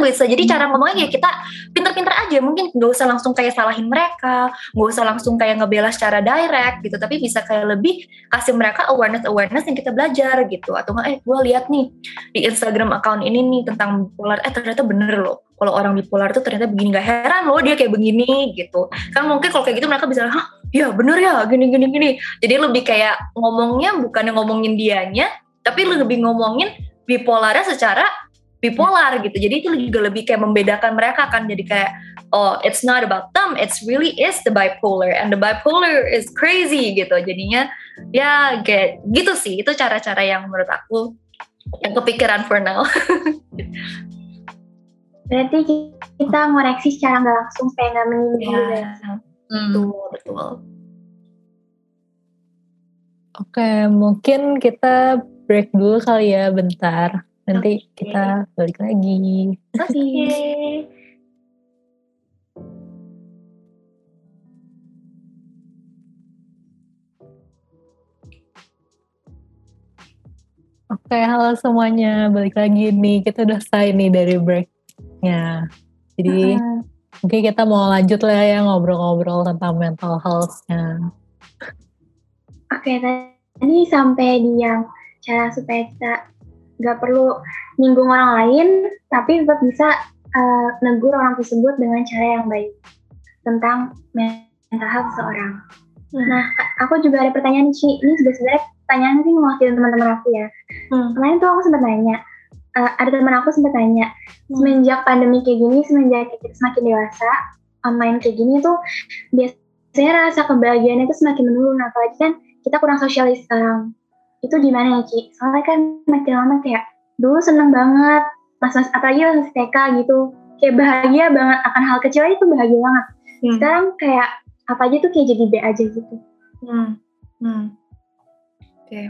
bisa jadi cara ngomongnya ya kita pinter-pinter aja, mungkin gak usah langsung kayak salahin mereka, gak usah langsung kayak ngebela secara direct gitu, tapi bisa kayak lebih kasih mereka awareness-awareness yang kita belajar gitu. Atau nggak, eh gue lihat nih di Instagram account ini nih tentang bipolar, eh ternyata bener loh kalau orang bipolar itu ternyata begini, gak heran loh dia kayak begini gitu kan. Mungkin kalau kayak gitu mereka bisa, hah ya bener ya gini gini gini. Jadi lebih kayak ngomongnya bukannya ngomongin dianya, tapi lebih ngomongin bipolarnya secara bipolar gitu. Jadi itu juga lebih kayak membedakan mereka kan. Jadi kayak, oh it's not about them, it's really is the bipolar, and the bipolar is crazy gitu. Jadinya ya kayak gitu sih. Itu cara-cara yang menurut aku yang kepikiran for now. Berarti kita ngoreksi secara nggak langsung supaya nggak menyinggung. Ya, betul betul. Oke, mungkin kita break dulu kali ya bentar. Nanti okay. kita balik lagi. Oke. Okay. Oke, halo semuanya. Balik lagi nih. Kita udah selesai nih dari breaknya. Jadi uh-huh. mungkin kita mau lanjut lah ya ngobrol-ngobrol tentang mental health-nya. Oke, tadi sampai di yang cara supaya kita gak perlu nyinggung orang lain, tapi tetap bisa uh, negur orang tersebut dengan cara yang baik tentang mental health seseorang. Hmm. Nah, aku juga ada pertanyaan Ci. Ini juga sebenarnya pertanyaan sih mewakili teman-teman aku ya. Hmm. Kemarin tuh aku sempat nanya, uh, ada teman aku sempat tanya, hmm. semenjak pandemi kayak gini, semenjak kita semakin dewasa, online kayak gini tuh biasanya rasa kebahagiaannya tuh semakin menurun, apalagi kan kita kurang sosialis sekarang. Itu gimana ya Ci? Soalnya kan makin lama kayak dulu seneng banget, mas-mas apalagi pas T K gitu, kayak bahagia banget akan hal kecil aja tuh bahagia banget. Hmm. Sekarang kayak apa aja tuh kayak jadi B aja gitu. Hmm. Hmm. Oke, okay.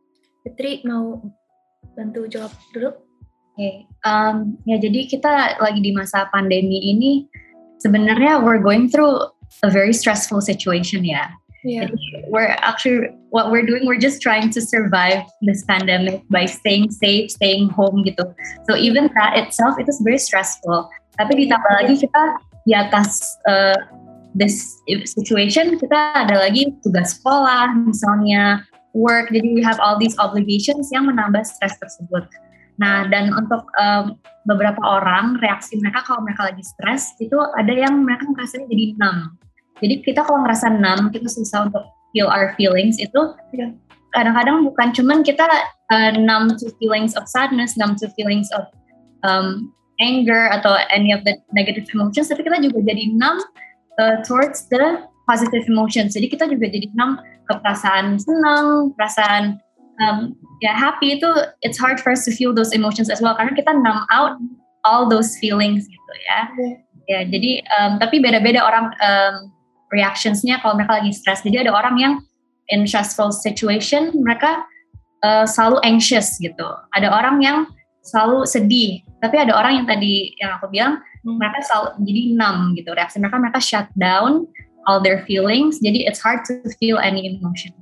Fitri mau bantu jawab dulu? Oke, okay. um, ya jadi kita lagi di masa pandemi ini sebenarnya we're going through a very stressful situation ya. Yeah. We're actually what we're doing, we're just trying to survive this pandemic by staying safe, staying home gitu. So even that itself itu very stressful. Tapi ditambah lagi kita di atas uh, this situation, kita ada lagi tugas sekolah, misalnya work. Jadi we have all these obligations yang menambah stres tersebut. Nah, dan untuk um, beberapa orang reaksi mereka kalau mereka lagi stres itu ada yang mereka merasanya jadi numb. Jadi kita kalau ngerasa numb, kita susah untuk feel our feelings itu yeah. kadang-kadang bukan cuman kita uh, numb to feelings of sadness, numb to feelings of um, anger atau any of the negative emotions, tapi kita juga jadi numb uh, towards the positive emotions. Jadi kita juga jadi numb ke perasaan senang, perasaan um, ya happy itu it's hard for us to feel those emotions as well karena kita numb out all those feelings gitu ya. Yeah. Ya jadi um, tapi beda-beda orang um, reactionsnya kalau mereka lagi stress. Jadi ada orang yang in stressful situation mereka uh, selalu anxious gitu. Ada orang yang selalu sedih. Tapi ada orang yang tadi yang aku bilang hmm. mereka selalu jadi numb gitu. Reaksi mereka mereka shut down all their feelings. Jadi it's hard to feel any emotion.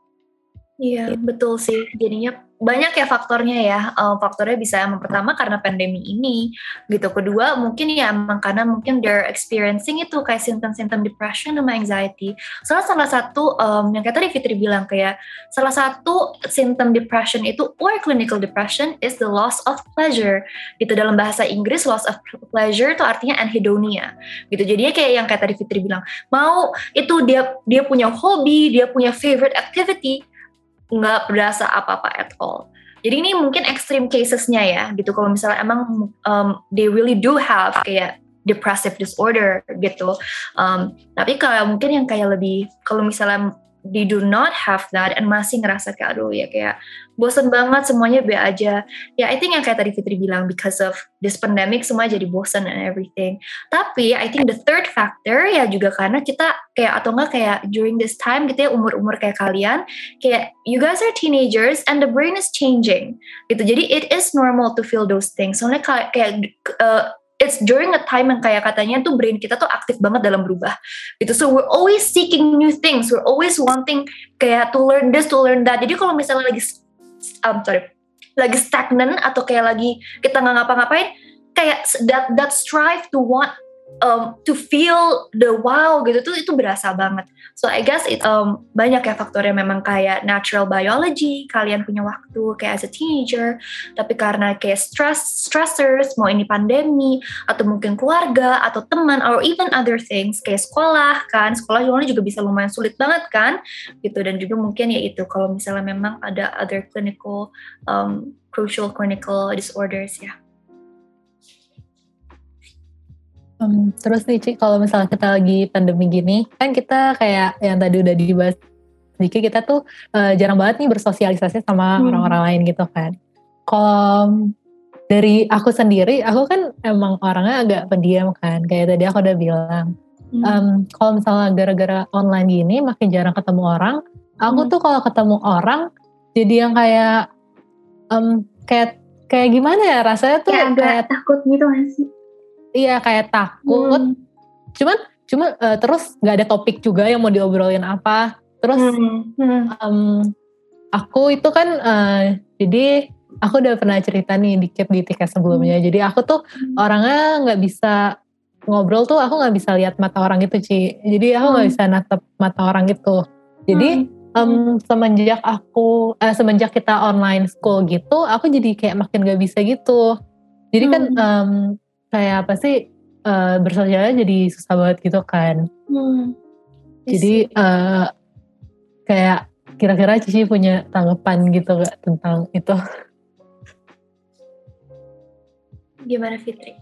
Iya betul sih. Jadinya banyak ya faktornya ya. Uh, faktornya bisa yang pertama karena pandemi ini gitu. Kedua mungkin ya emang karena mungkin they're experiencing itu kayak simptom-simptom depression sama anxiety. Salah salah satu um, yang kayak tadi Fitri bilang kayak salah satu simptom depression itu or clinical depression is the loss of pleasure. Gitu dalam bahasa Inggris loss of pleasure itu artinya anhedonia. Gitu. Jadinya kayak yang kayak tadi Fitri bilang, mau itu dia dia punya hobi, dia punya favorite activity, nggak berasa apa-apa at all. Jadi ini mungkin extreme casesnya ya, gitu. Kalau misalnya emang um, they really do have kayak depressive disorder gitu. Um, tapi kalau mungkin yang kayak lebih, kalau misalnya they do not have that and masih ngerasa kayak aduh ya kayak bosen banget semuanya B aja. Ya I think yang kayak tadi Fitri bilang because of this pandemic semua jadi bosen and everything. Tapi I think the third factor ya juga karena kita kayak atau enggak kayak during this time gitu ya umur-umur kayak kalian kayak you guys are teenagers and the brain is changing gitu. Jadi it is normal to feel those things. Soalnya kayak, kayak uh, it's during a time yang kayak katanya tuh brain kita tuh aktif banget dalam berubah gitu. So we're always seeking new things, we're always wanting kayak to learn this, to learn that. Jadi kalau misalnya lagi um, sorry lagi stagnan atau kayak lagi kita nggak ngapa-ngapain, kayak that that strive to want um, to feel the wow gitu tuh itu berasa banget. So I guess it um, banyak ya faktornya, memang kayak natural biology, kalian punya waktu kayak as a teenager, tapi karena kayak stress stressors, mau ini pandemi atau mungkin keluarga atau teman or even other things kayak sekolah kan, sekolah juga bisa lumayan sulit banget kan gitu. Dan juga mungkin ya itu kalau misalnya memang ada other clinical um, crucial clinical disorders ya. Um, terus nih Ci, kalau misalnya kita lagi pandemi gini, kan kita kayak yang tadi udah dibahas sedikit, kita tuh uh, jarang banget nih bersosialisasi sama hmm. orang-orang lain gitu kan. Kalau dari aku sendiri, aku kan emang orangnya agak pendiam kan, kayak tadi aku udah bilang. Hmm. Um, kalau misalnya gara-gara online gini, makin jarang ketemu orang, aku hmm. tuh kalau ketemu orang, jadi yang kayak, um, kayak kayak gimana ya, rasanya tuh kayak, kayak takut gitu gak sih? Iya kayak takut, hmm. cuman cuma uh, terus nggak ada topik juga yang mau diobrolin apa. Terus hmm. um, aku itu kan uh, jadi aku udah pernah cerita nih dikit di tiket sebelumnya. Hmm. Jadi aku tuh hmm. orangnya nggak bisa ngobrol tuh, aku nggak bisa lihat mata orang gitu Ci. Jadi aku nggak hmm. bisa natap mata orang gitu. Jadi hmm. um, semenjak aku uh, semenjak kita online school gitu, aku jadi kayak makin nggak bisa gitu. Jadi hmm. kan um, kayak apa sih uh, bersosialnya jadi susah banget gitu kan. Hmm. Jadi uh, kayak kira-kira Cici punya tanggapan gitu gak tentang itu? Gimana Fitri?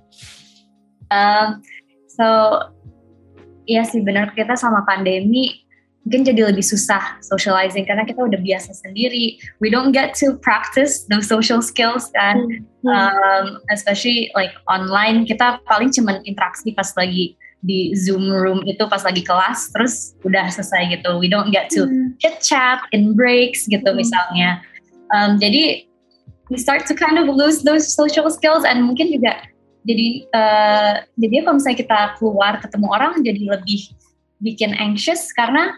Um, so iya sih benar, kita sama pandemi mungkin jadi lebih susah socializing karena kita udah biasa sendiri. We don't get to practice those social skills kan, mm-hmm. um, especially like online. Kita paling cuman interaksi pas lagi di Zoom room itu pas lagi kelas, terus udah selesai gitu. We don't get to mm-hmm. chit chat in breaks gitu mm-hmm. misalnya. Um, jadi we start to kind of lose those social skills, and mungkin juga jadi uh, jadi kalau misalnya kita keluar ketemu orang jadi lebih bikin anxious karena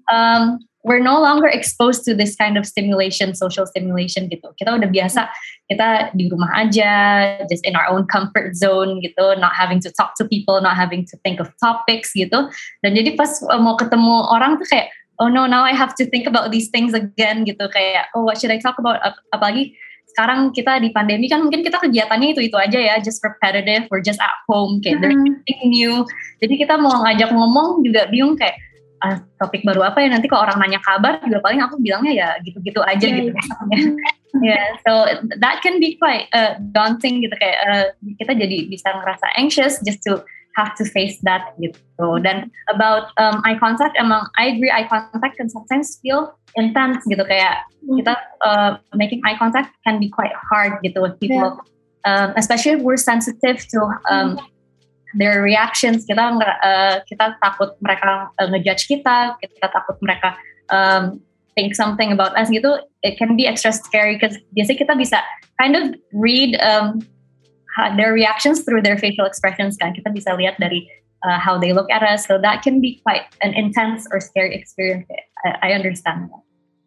um, we're no longer exposed to this kind of stimulation, social stimulation gitu. Kita udah biasa, kita di rumah aja, just in our own comfort zone gitu, not having to talk to people, not having to think of topics gitu. Dan jadi pas uh, mau ketemu orang tuh kayak, oh no, now I have to think about these things again gitu. Kayak, oh what should I talk about? Ap- apalagi sekarang kita di pandemi kan mungkin kita kegiatannya itu-itu aja ya, just repetitive, we're just at home, kayak there's nothing new. Jadi kita mau ngajak ngomong juga bingung kayak, ah, topik baru apa ya, nanti kalau orang nanya kabar juga paling aku bilangnya ya gitu-gitu aja yeah, gitu. Ya, yeah, so that can be quite uh, daunting gitu, kayak uh, kita jadi bisa ngerasa anxious just to have to face that gitu. Dan about um, eye contact, emang I agree, eye contact can sometimes feel intense gitu, kayak kita uh, making eye contact can be quite hard gitu with people, yeah. um, especially if we're sensitive to um, their reactions. Kita uh, kita takut mereka uh, ngejudge kita, kita takut mereka um, think something about us gitu. It can be extra scary because biasanya kita bisa kind of read um, their reactions through their facial expressions kan. Kita bisa lihat dari uh, how they look at us, so that can be quite an intense or scary experience. I, I understand that.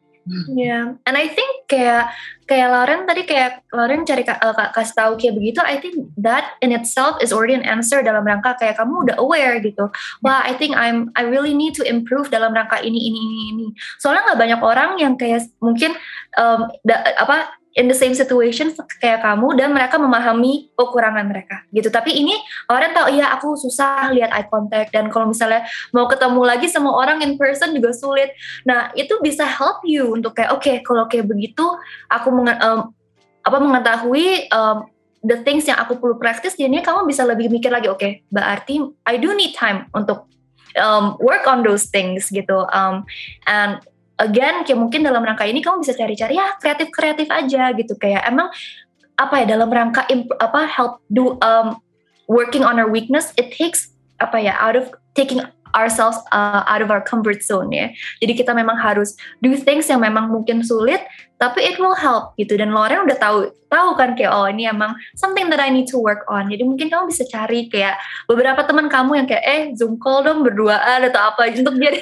Yeah, and I think kayak kayak Lauren tadi kayak Lauren cari uh, kasih tahu kayak begitu. I think that in itself is already an answer dalam rangka kayak kamu udah aware gitu. Wah, I think I'm I really need to improve dalam rangka ini ini ini ini. Soalnya nggak banyak orang yang kayak mungkin um, da, apa in the same situation kayak kamu dan mereka memahami kekurangan mereka gitu. Tapi ini orang tahu ya aku susah lihat eye contact, dan kalau misalnya mau ketemu lagi sama orang in person juga sulit. Nah itu bisa help you untuk kayak oke okay, kalau kayak begitu aku menge- um, apa mengetahui um, the things yang aku perlu practice. Jadinya kamu bisa lebih mikir lagi, oke okay, berarti I do need time untuk um, work on those things gitu. Um, and again, kayak mungkin dalam rangka ini kamu bisa cari-cari ya kreatif-kreatif aja gitu, kayak emang apa ya dalam rangka imp, apa help do um, working on our weakness, it takes apa ya out of taking ourselves uh, out of our comfort zone ya. Jadi kita memang harus do things yang memang mungkin sulit, tapi it will help gitu. Dan Lauren udah tahu tahu kan kayak oh ini emang something that I need to work on. Jadi mungkin kamu bisa cari kayak beberapa teman kamu yang kayak eh Zoom call dong berduaan atau apa untuk jadi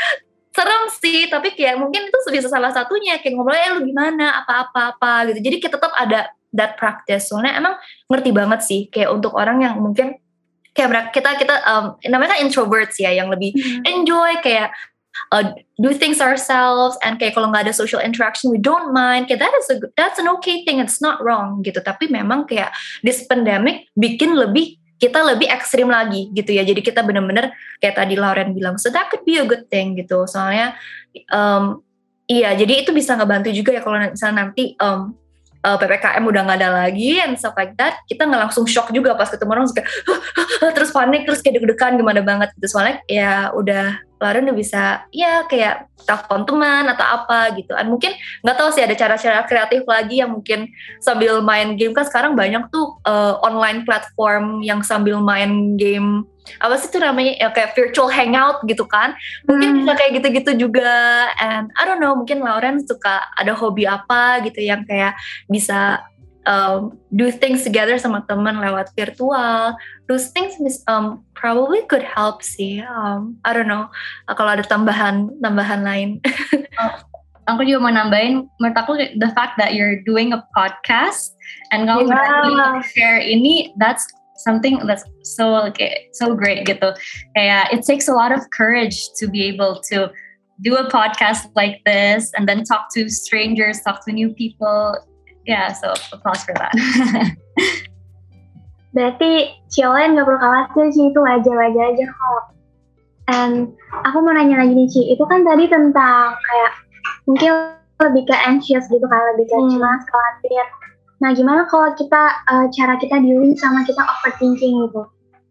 serem sih, tapi kayak mungkin itu bisa salah satunya kayak ngobrol eh lu gimana apa-apa-apa gitu. Jadi kita tetap ada that practice. Soalnya emang ngerti banget sih kayak untuk orang yang mungkin kayak kita kita um, namanya kan introverts ya, yang lebih hmm. enjoy kayak uh, do things ourselves, and kayak kalau nggak ada social interaction we don't mind, kayak that is a, that's an okay thing, it's not wrong gitu. Tapi memang kayak this pandemic bikin lebih kita lebih ekstrim lagi gitu ya. Jadi kita benar-benar kayak tadi Lauren bilang, so that could be a good thing gitu. Soalnya um, iya, jadi itu bisa ngebantu juga ya kalau misalnya nanti um, Uh, P P K M udah gak ada lagi and stuff like that, kita gak langsung shock juga pas ketemu orang kayak terus panik, terus kayak deg-degan gimana banget gitu. Soalnya ya udah Lauren udah bisa ya kayak telepon teman atau apa gitu. Dan mungkin gak tahu sih ada cara-cara kreatif lagi yang mungkin sambil main game, kan sekarang banyak tuh uh, online platform yang sambil main game, apa sih tuh namanya ya, kayak virtual hangout gitu kan, mungkin hmm. bisa kayak gitu-gitu juga. And I don't know, mungkin Lauren suka ada hobi apa gitu yang kayak bisa um, do things together sama teman lewat virtual. Those things um, probably could help sih. um, I don't know uh, kalau ada tambahan tambahan lain. oh, aku juga mau nambahin, menurut aku the fact that you're doing a podcast and kamu yeah. berani share ini, that's something that's so okay, so great gitu. Kayak it takes a lot of courage to be able to do a podcast like this and then talk to strangers, talk to new people. Yeah, so applause for that. Berarti Ciolen gak perlu khawatir sih, itu wajar-wajar aja kok. And aku mau nanya lagi nih Ci, itu kan tadi tentang kayak mungkin lebih ke anxious gitu kan, lebih ke hmm. cemas, khawatir. Nah, gimana kalau kita uh, cara kita dealing sama kita overthinking gitu?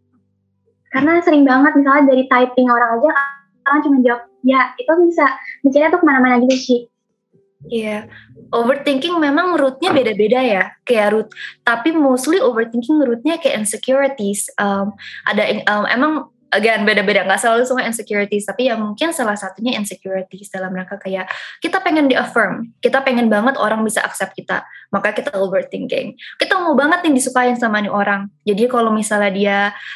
Karena sering banget misalnya dari typing orang aja, orang cuma jawab ya, itu bisa mikirnya tuh kemana-mana gitu sih. Iya, yeah. Overthinking memang rootnya beda-beda ya, kayak root. Tapi mostly overthinking rootnya kayak insecurities. Um, ada um, emang again beda-beda, nggak selalu semua insecurities, tapi ya mungkin salah satunya insecurities dalam rangka kayak kita pengen di-affirm, kita pengen banget orang bisa accept kita, maka kita overthinking. Kita mau banget nih disukain sama nih orang, jadi kalau misalnya dia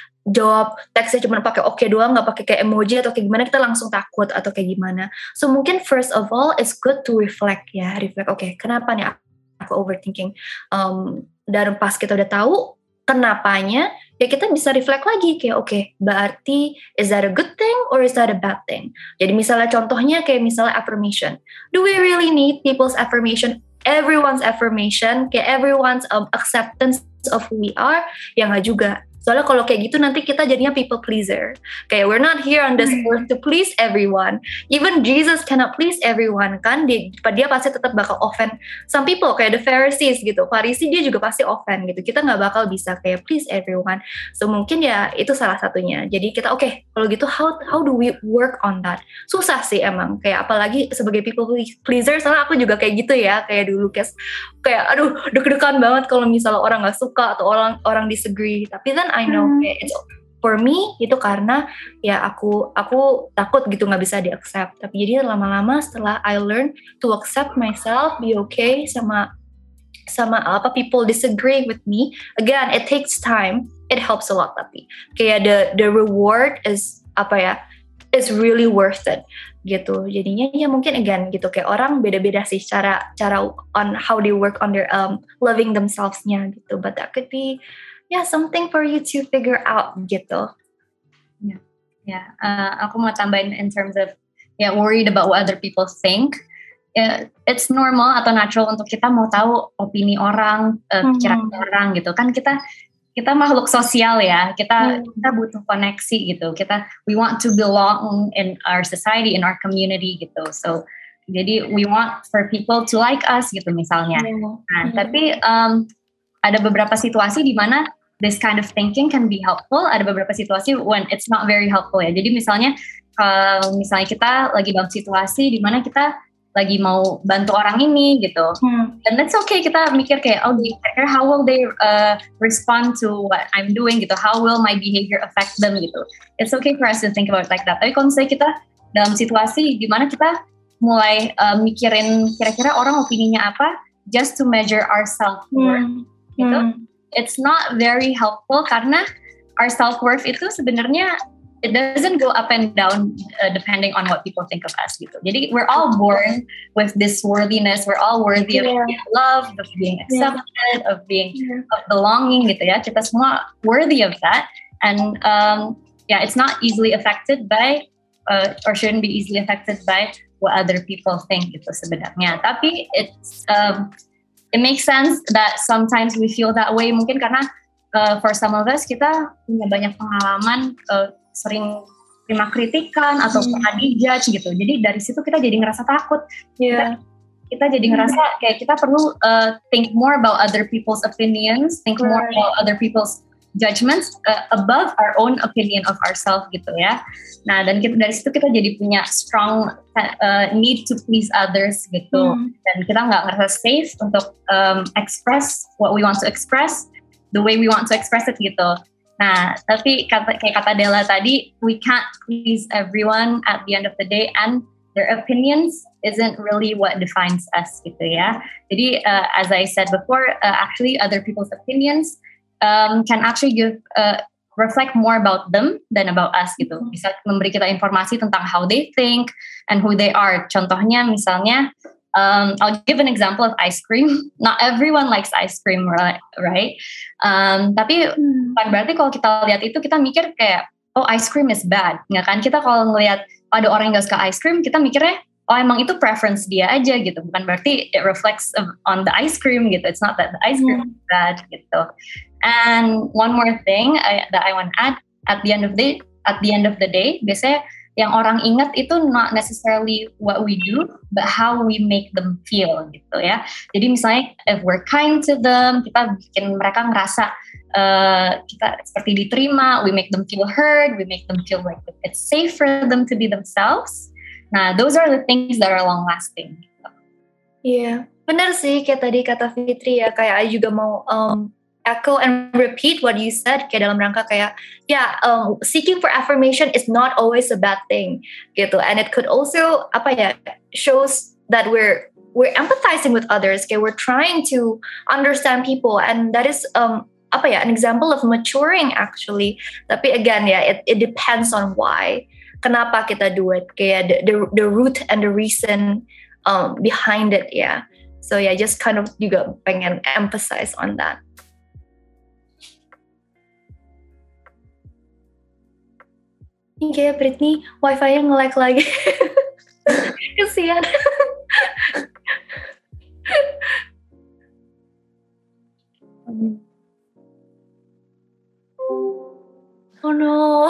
jawab teksnya cuma pakai oke doang, nggak pakai kayak emoji atau kayak gimana, kita langsung takut atau kayak gimana. So mungkin first of all it's good to reflect ya, reflect oke okay, kenapa nih aku overthinking, um, dan pas kita udah tahu kenapanya, ya kita bisa reflect lagi kayak oke, okay, berarti is that a good thing or is that a bad thing? Jadi misalnya contohnya kayak misalnya affirmation. Do we really need people's affirmation? Everyone's affirmation, kayak everyone's um, acceptance of who we are? Ya nggak juga. Soalnya kalau kayak gitu nanti kita jadinya people pleaser. Kayak we're not here on this earth to please everyone. Even Jesus cannot please everyone kan. Dia, dia pasti tetap bakal offend some people. Kayak the Pharisees gitu. Farisi dia juga pasti offend gitu. Kita gak bakal bisa kayak please everyone. So mungkin ya itu salah satunya. Jadi kita oke okay, kalau gitu how how do we work on that? Susah sih emang. Kayak apalagi sebagai people pleaser. Soalnya aku juga kayak gitu ya. Kayak dulu kayak, kayak aduh deg-degan banget kalau misalnya orang gak suka atau orang orang disagree. Tapi then I know hmm. okay, it's for me itu karena ya aku aku takut gitu nggak bisa di accept. Tapi jadi lama-lama setelah I learn to accept myself, be okay sama sama apa people disagree with me. Again, it takes time. It helps a lot tapi kayak the the reward is apa ya? It's really worth it gitu. Jadinya ya mungkin again gitu kayak orang beda-beda sih cara cara on how they work on their um loving themselves-nya gitu. But that could be yeah, something for you to figure out gitu. Ya, yeah. yeah. uh, aku mau tambahin in terms of yeah, worried about what other people think. Yeah, it's normal atau natural untuk kita mau tahu opini orang, uh, mm-hmm. pikiran orang gitu. Kan kita kita makhluk sosial ya. Kita mm. kita butuh koneksi gitu. Kita we want to belong in our society, in our community gitu. So jadi we want for people to like us gitu misalnya. Mm. Nah, mm. tapi um, ada beberapa situasi di mana this kind of thinking can be helpful, ada beberapa situasi when it's not very helpful ya. Jadi misalnya kalau misalnya kita lagi dalam situasi di mana kita lagi mau bantu orang ini gitu, hmm. dan that's okay, kita mikir kayak oh how will they uh, respond to what I'm doing gitu, how will my behavior affect them gitu. It's okay for us to think about it like that. Tapi kalau misalnya kita dalam situasi di mana kita mulai uh, mikirin kira-kira orang opininya apa just to measure our self-worth hmm. gitu, hmm. it's not very helpful karena our self-worth itu sebenarnya it doesn't go up and down uh, depending on what people think of us gitu. Jadi we're all born with this worthiness. We're all worthy yeah. of being loved, of being accepted, yeah. of being yeah. of belonging gitu ya. Kita semua worthy of that, and um, yeah, it's not easily affected by uh, or shouldn't be easily affected by what other people think gitu sebenarnya. Tapi it's um, it makes sense that sometimes we feel that way. Mungkin karena uh, for some of us kita punya banyak pengalaman. Uh, sering terima kritikan atau hmm. pernah dijudge gitu. Jadi dari situ kita jadi ngerasa takut. Yeah. Kita, kita jadi ngerasa kayak kita perlu uh, think more about other people's opinions, think right. more about other people's judgments uh, above our own opinion of ourselves gitu ya. Nah dan kita, dari situ kita jadi punya strong uh, need to please others gitu. Hmm. Dan kita nggak ngerasa safe untuk um, express what we want to express the way we want to express it gitu. Nah, tapi kata, kayak kata Della tadi, we can't please everyone at the end of the day, and their opinions isn't really what defines us, gitu ya. Jadi, uh, as I said before, uh, actually other people's opinions um, can actually give uh, reflect more about them than about us, gitu. Bisa memberi kita informasi tentang how they think and who they are. Contohnya, misalnya. Um, I'll give an example of ice cream. Not everyone likes ice cream, right? Um, tapi hmm. bukan berarti kalau kita lihat itu kita mikir kayak, oh ice cream is bad, nggak kan? Kita kalau ngelihat ada orang yang nggak suka ice cream, kita mikirnya, oh emang itu preference dia aja gitu. Bukan berarti it reflects on the ice cream gitu. It's not that the ice cream hmm. is bad gitu. And one more thing I, that I want to add, at the end of the at the end of the day, biasanya yang orang ingat itu not necessarily what we do, but how we make them feel gitu ya. Jadi misalnya if we're kind to them, kita bikin mereka ngerasa uh, kita seperti diterima, we make them feel heard, we make them feel like it's safe for them to be themselves. Nah, those are the things that are long lasting. Iya, yeah. Benar sih kayak tadi kata Fitri ya, kayak I juga mau um, echo and repeat what you said kayak dalam rangka kayak ya yeah, um, seeking for affirmation is not always a bad thing gitu, and it could also apa ya shows that we're we're empathizing with others, kayak we're trying to understand people, and that is um apa ya an example of maturing actually. Tapi again ya yeah, it it depends on why, kenapa kita do it, kayak the the, the root and the reason um behind it ya. Yeah. So yeah, just kind of juga pengen emphasize on that. Ini kayak Britney wifi-nya nge-lag lagi. Kesian. Oh no.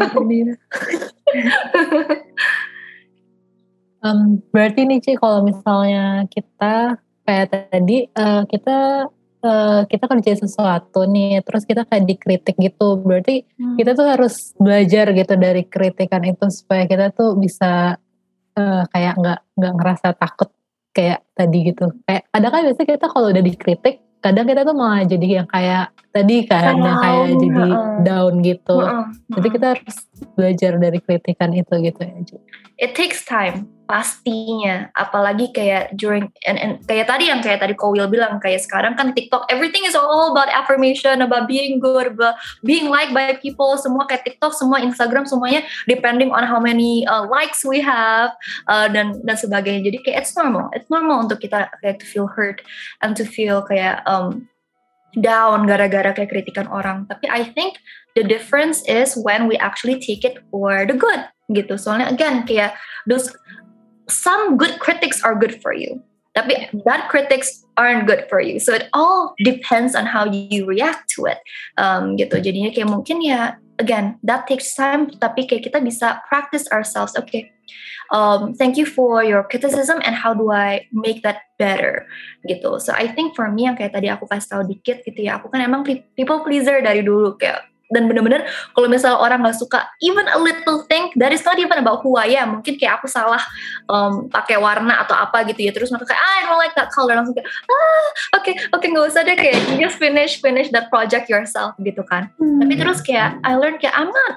um, berarti nih Ci, kalau misalnya kita kayak tadi uh, kita Uh, kita kerja sesuatu nih, terus kita kayak dikritik gitu, berarti hmm. kita tuh harus belajar gitu dari kritikan itu supaya kita tuh bisa uh, kayak nggak nggak ngerasa takut kayak tadi gitu. Kayak kadang kan biasanya kita kalau udah dikritik, kadang kita tuh malah jadi yang kayak tadi kan, yang kayak uh, jadi uh, down gitu. Uh, uh, jadi kita harus belajar dari kritikan itu gitu ya. It takes time pastinya, apalagi kayak during and, and kayak tadi yang kayak tadi Kowil bilang, kayak sekarang kan TikTok everything is all about affirmation, about being good, about being liked by people, semua kayak TikTok, semua Instagram, semuanya depending on how many uh, likes we have uh, dan dan sebagainya. Jadi kayak it's normal, it's normal untuk kita kayak to feel hurt and to feel kayak um, down gara-gara kayak kritikan orang. Tapi I think the difference is when we actually take it for the good gitu. Soalnya again kayak those some good critics are good for you, tapi bad critics aren't good for you. So it all depends on how you react to it. Um, gitu. Jadinya kayak mungkin ya, again, that takes time. Tapi kayak kita bisa practice ourselves. Okay, um, thank you for your criticism, and how do I make that better? Gitu. So I think for me yang kayak tadi aku kasih tahu dikit gitu ya. Aku kan emang people pleaser dari dulu kayak. Dan bener-bener kalau misalnya orang gak suka even a little thing, that is not even about who I am. Mungkin kayak aku salah um, pakai warna atau apa gitu ya, terus mereka kayak ah, I don't like that color, langsung kayak ah oke okay, oke okay, gak usah deh, kayak you just finish finish that project yourself gitu kan. hmm. Tapi terus kayak I learn kayak I'm not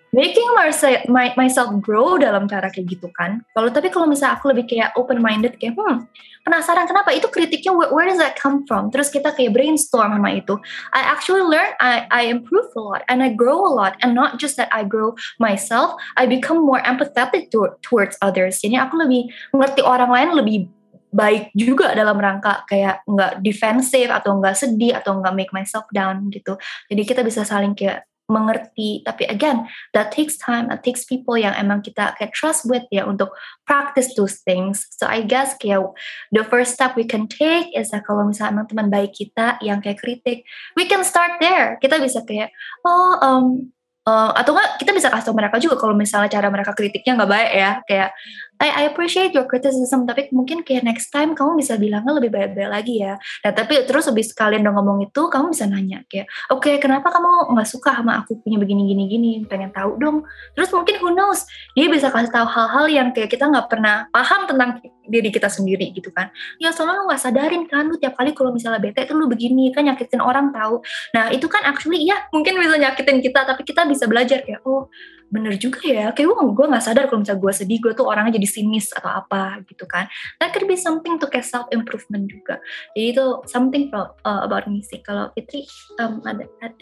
making myself, my, myself grow dalam cara kayak gitu kan. Kalau tapi kalau misalnya aku lebih kayak open minded kayak hmm penasaran kenapa itu kritiknya where, where does that come from? Terus kita kayak brainstorm sama itu. I actually learn, I I improve a lot and I grow a lot, and not just that I grow myself, I become more empathetic to, towards others. Jadi aku lebih mengerti orang lain lebih baik juga dalam rangka kayak nggak defensive atau nggak sedih atau nggak make myself down gitu. Jadi kita bisa saling kayak mengerti, tapi again that takes time, that takes people yang emang kita kayak trust with ya untuk practice those things. So I guess kayak the first step we can take is that kalau misalnya emang teman baik kita yang kayak kritik, we can start there. Kita bisa kayak oh um, uh, atau enggak kita bisa kasih tau mereka juga kalau misalnya cara mereka kritiknya nggak baik ya, kayak I, I appreciate your criticism, tapi mungkin kayak next time kamu bisa bilangnya lebih baik-baik lagi ya. Nah tapi terus habis kalian udah ngomong itu, kamu bisa nanya kayak, oke okay, kenapa kamu nggak suka sama aku punya begini-gini-gini, pengen tahu dong. Terus mungkin who knows, dia bisa kasih tahu hal-hal yang kayak kita nggak pernah paham tentang diri kita sendiri gitu kan. Ya soalnya lu nggak sadarin kan, lu tiap kali kalau misalnya bete tuh lu begini kan, nyakitin orang tahu. Nah itu kan actually ya mungkin bisa nyakitin kita, tapi kita bisa belajar kayak, oh bener juga ya, kayak gue gue nggak sadar kalau misalnya gue sedih gue tuh orangnya jadi sinis atau apa gitu kan. That could be something to kayak self improvement juga. Jadi itu something for, uh, about me sih. Kalau Fitri um, ada ada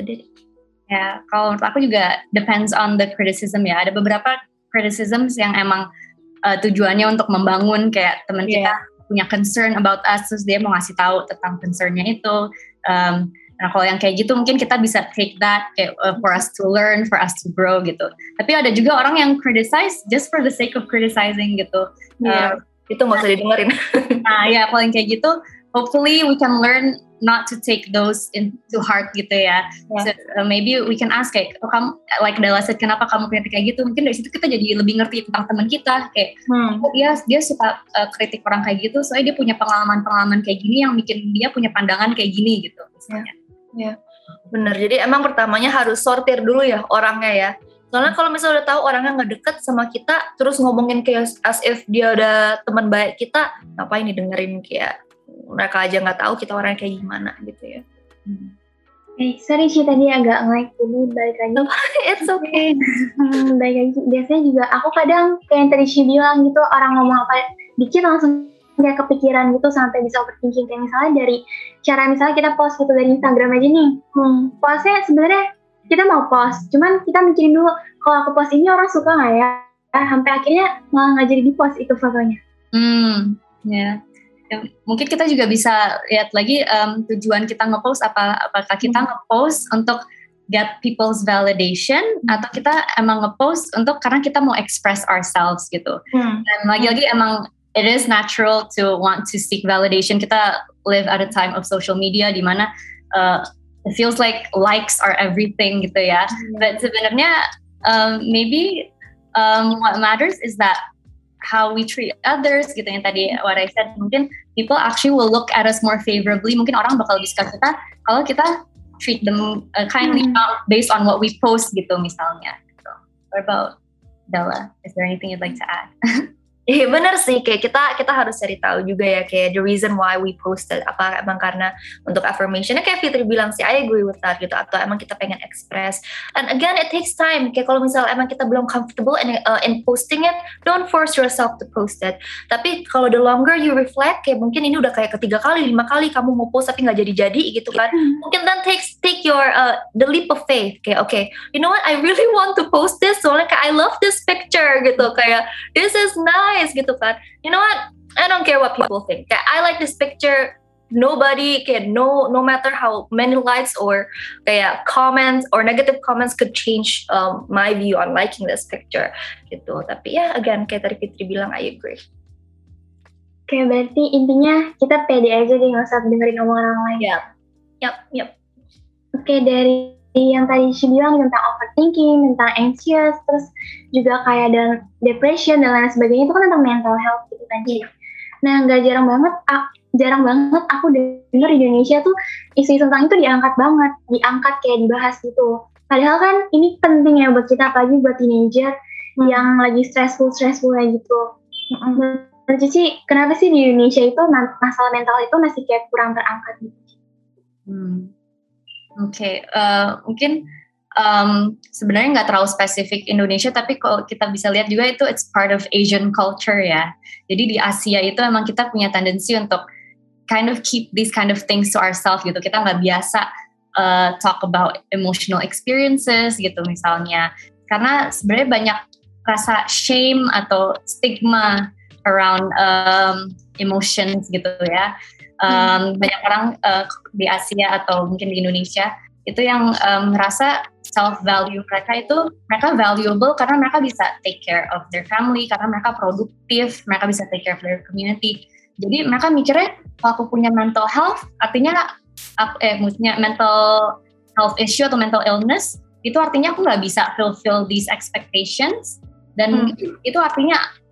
ya, kalau menurut aku juga depends on the criticism ya. Ada beberapa criticisms yang emang uh, tujuannya untuk membangun, kayak teman yeah. kita punya concern about us, terus dia mau ngasih tahu tentang concernnya itu. Um, Nah kalau yang kayak gitu mungkin kita bisa take that kayak, uh, for us to learn, for us to grow gitu. Tapi ada juga orang yang criticize just for the sake of criticizing gitu. Yeah, uh, itu nggak usah didengerin. Nah ya kalau yang kayak gitu, hopefully we can learn not to take those into heart gitu ya. Yeah. So, uh, maybe we can ask kayak, oh, kamu like Della said, kenapa kamu kritik kayak gitu? Mungkin dari situ kita jadi lebih ngerti tentang teman kita. Kayak hmm. oh, dia dia suka uh, kritik orang kayak gitu, soalnya dia punya pengalaman-pengalaman kayak gini yang bikin dia punya pandangan kayak gini gitu misalnya. Yeah. Ya, bener. Jadi emang pertamanya harus sortir dulu ya orangnya ya. Soalnya kalau misalnya udah tahu orangnya nggak deket sama kita, terus ngomongin kayak as if dia udah teman baik kita, ngapain nih dengerin kayak mereka aja nggak tahu kita orangnya kayak gimana gitu ya. Hmm. Eh, sorry sih tadi agak nge-lag, jadi balik lagi. It's okay. hmm, balik lagi. Biasanya juga aku kadang kayak yang tadi Shi bilang gitu, orang ngomong apa dikit langsung kayak kepikiran gitu sampai bisa overthinking. Kayak misalnya dari cara misalnya kita post gitu dari Instagram aja nih, hmm, postnya sebenarnya kita mau post, cuman kita mikirin dulu kalau aku post ini orang suka nggak ya, eh, sampai akhirnya malah nggak jadi di post itu fotonya. Hmm, ya. Yeah. Mungkin kita juga bisa lihat lagi um, tujuan kita ngepost apa, apakah kita hmm. ngepost untuk get people's validation hmm. atau kita emang ngepost untuk karena kita mau express ourselves gitu. Hmm. Dan lagi-lagi emang it is natural to want to seek validation. Kita live at a time of social media di mana uh, it feels like likes are everything gitu ya. Mm-hmm. But sebenarnya um, maybe um, what matters is that how we treat others gitu, yang tadi what I said, mungkin people actually will look at us more favorably. Mungkin orang bakal lebih suka kita kalau kita treat them uh, kindly mm-hmm. based on what we post gitu misalnya. So, what about Della? Is there anything you'd like to add? Iya benar sih, kayak kita kita harus cari tahu juga ya kayak the reason why we posted, apa emang karena untuk affirmationnya kayak Fitri bilang sih, I agree with that gitu, atau emang kita pengen express. And again it takes time, kayak kalau misalnya emang kita belum comfortable in, uh, in posting it, don't force yourself to post it. Tapi kalau the longer you reflect, kayak mungkin ini udah kayak ketiga kali, lima kali kamu mau post tapi nggak jadi-jadi gitu kan, mungkin then take take your uh, the leap of faith, kayak oke, okay, you know what, I really want to post this, soalnya kayak I love this picture gitu, kayak this is nice gitu kan. You know what? I don't care what people think. Kayak I like this picture. Nobody can no no matter how many likes or kayak comments or negative comments could change um, my view on liking this picture gitu. Tapi ya again kayak tadi Fitri bilang, I agree. Oke, berarti intinya kita pede aja deh, nggak usah dengerin omongan orang lain. Yap, yap, yap. Oke, dari yang tadi Shi bilang tentang overthinking, tentang anxious, terus juga kayak dan depression dan lain sebagainya, itu kan tentang mental health gitu kan. Yeah. Nah, nggak jarang banget, ah, jarang banget aku denger di Indonesia tuh isu tentang itu diangkat banget, diangkat kayak dibahas gitu. Padahal kan ini penting ya buat kita, apalagi buat teenager hmm. yang lagi stressful-stressful kayak gitu. Hmm. Menurut Cici, kenapa sih di Indonesia itu masalah mental itu masih kayak kurang terangkat gitu? Hmm. Oke, okay. uh, mungkin um, sebenarnya nggak terlalu spesifik Indonesia, tapi kalau kita bisa lihat juga itu it's part of Asian culture ya. Jadi di Asia itu emang kita punya tendensi untuk kind of keep these kind of things to ourselves gitu. Kita nggak biasa uh, talk about emotional experiences gitu misalnya. Karena sebenarnya banyak rasa shame atau stigma around um, emotions gitu ya. Um, hmm. Banyak orang uh, di Asia atau mungkin di Indonesia itu yang um, merasa self value mereka itu mereka valuable karena mereka bisa take care of their family, karena mereka produktif, mereka bisa take care of their community. Jadi mereka mikirnya kalau aku punya mental health artinya eh maksudnya mental health issue atau mental illness itu artinya aku nggak bisa fulfill these expectations dan hmm. itu artinya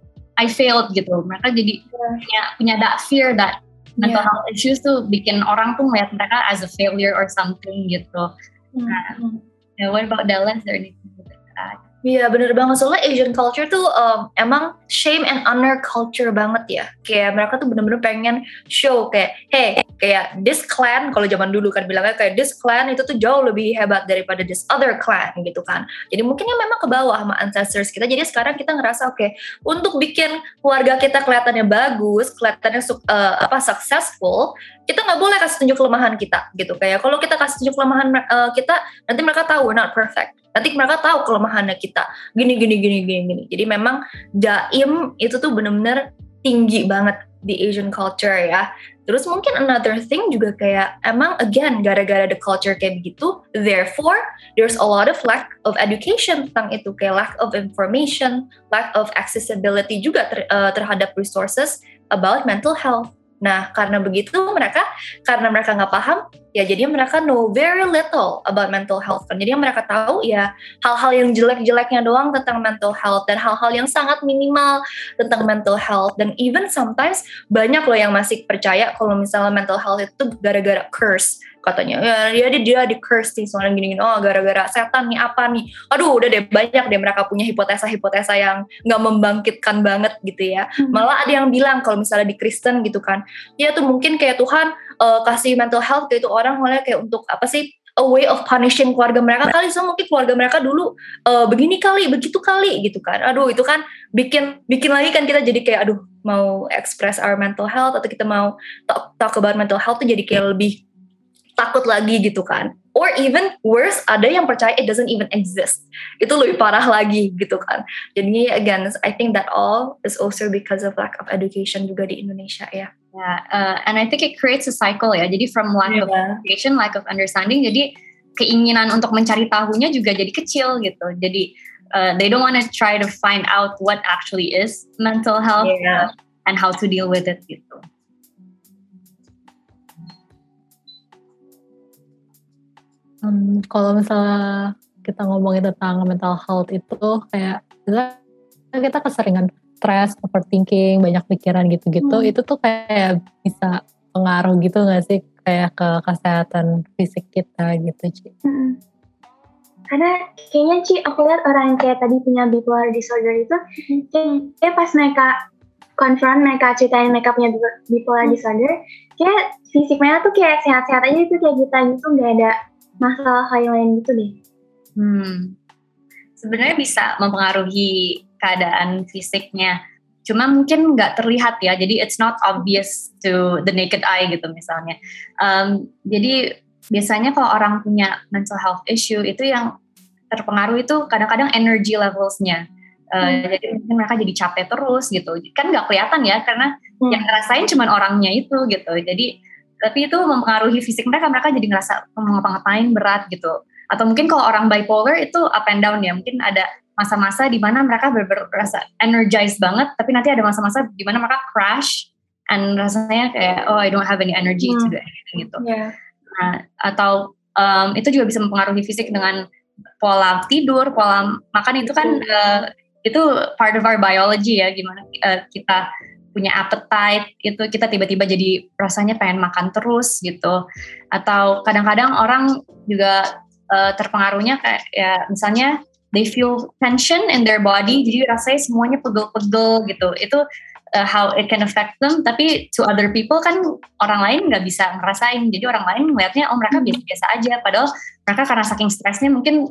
I failed gitu. Mereka jadi yeah. punya punya that fear that mental yeah. health issues tuh bikin orang tuh melihat mereka as a failure or something gitu. Mm-hmm. Nah, yeah, what about Della? Is there anything to add? Iya, bener banget. Soalnya Asian culture tuh um, emang shame and honor culture banget ya. Kayak mereka tuh bener-bener pengen show kayak, hey, kayak this clan, kalau zaman dulu kan bilangnya kayak this clan itu tuh jauh lebih hebat daripada this other clan gitu kan. Jadi mungkin ya memang ke bawah sama ancestors kita. Jadi sekarang kita ngerasa oke, okay, untuk bikin keluarga kita kelihatannya bagus, kelihatannya uh, apa successful, kita nggak boleh kasih tunjuk kelemahan kita gitu. Kayak kalau kita kasih tunjuk kelemahan uh, kita, nanti mereka tahu we're not perfect. Nanti mereka tahu kelemahannya kita gini gini gini gini gini. Jadi memang jaim itu tuh benar-benar tinggi banget di Asian culture ya. Terus mungkin another thing juga kayak emang again gara-gara the culture kayak begitu, therefore there's a lot of lack of education tentang itu, kayak lack of information, lack of accessibility juga ter, uh, terhadap resources about mental health. Nah, karena begitu mereka, karena mereka nggak paham, ya jadi mereka know very little about mental health. Kan. Jadi yang mereka tahu ya hal-hal yang jelek-jeleknya doang tentang mental health dan hal-hal yang sangat minimal tentang mental health. Dan even sometimes banyak loh yang masih percaya kalau misalnya mental health itu gara-gara curse. Katanya, ya dia dia di curse nih soalnya gini-gini, oh gara-gara setan nih apa nih, aduh udah deh banyak deh mereka punya hipotesa-hipotesa yang nggak membangkitkan banget gitu ya. Hmm. Malah ada yang bilang kalau misalnya di Kristen gitu kan, ya tuh mungkin kayak Tuhan uh, kasih mental health ke itu orang mulai kayak untuk apa sih, a way of punishing keluarga mereka kali, so mungkin keluarga mereka dulu uh, begini kali, begitu kali gitu kan. Aduh itu kan bikin bikin lagi kan kita jadi kayak aduh mau express our mental health atau kita mau talk, talk about mental health tuh jadi kayak lebih takut lagi gitu kan. Or even worse, ada yang percaya it doesn't even exist. Itu lebih parah lagi gitu kan. Jadi again, I think that all is also because of lack of education juga di Indonesia ya. Yeah, uh, and I think it creates a cycle ya. Jadi from lack yeah. of education, lack of understanding, jadi keinginan untuk mencari tahunya juga jadi kecil gitu. Jadi uh, they don't want to try to find out what actually is mental health yeah. uh, and how to deal with it gitu. Um, kalau misalnya kita ngomongin tentang mental health itu kayak kita keseringan stress, overthinking, banyak pikiran gitu-gitu, hmm. itu tuh kayak bisa pengaruh gitu nggak sih kayak ke kesehatan fisik kita gitu, Ci? Hmm. Karena kayaknya Ci, aku lihat orang yang kayak tadi punya bipolar disorder itu, hmm. kayak pas mereka confront, mereka ceritain mereka punya bipolar hmm. disorder, kayak fisik mereka tuh kayak sehat-sehat aja gitu, kayak kita gitu, nggak ada masalah hal lain gitu deh. Hmm. Sebenarnya bisa mempengaruhi keadaan fisiknya, cuma mungkin nggak terlihat ya. Jadi it's not obvious to the naked eye gitu misalnya. Um, jadi biasanya kalau orang punya mental health issue itu yang terpengaruh itu kadang-kadang energy levelsnya. Uh, hmm. Jadi mungkin mereka jadi capek terus gitu. Kan nggak kelihatan ya karena hmm. yang ngerasain cuma orangnya itu gitu. Jadi tapi itu mempengaruhi fisik mereka, mereka jadi ngerasa ngapa-ngapain berat gitu. Atau mungkin kalau orang bipolar itu up and down ya, mungkin ada masa-masa di mana mereka berasa energized banget, tapi nanti ada masa-masa di mana mereka crash, and rasanya kayak, oh I don't have any energy hmm. to do anything gitu. Yeah. Nah, atau um, itu juga bisa mempengaruhi fisik dengan pola tidur, pola makan itu kan, uh, itu part of our biology ya, gimana uh, kita punya appetite, itu kita tiba-tiba jadi rasanya pengen makan terus gitu. Atau kadang-kadang orang juga uh, terpengaruhnya kayak ya misalnya they feel tension in their body, jadi rasanya semuanya pegel-pegel gitu. Itu uh, how it can affect them, tapi to other people kan orang lain nggak bisa ngerasain. Jadi orang lain ngeliatnya oh mereka biasa-biasa aja, padahal mereka karena saking stresnya mungkin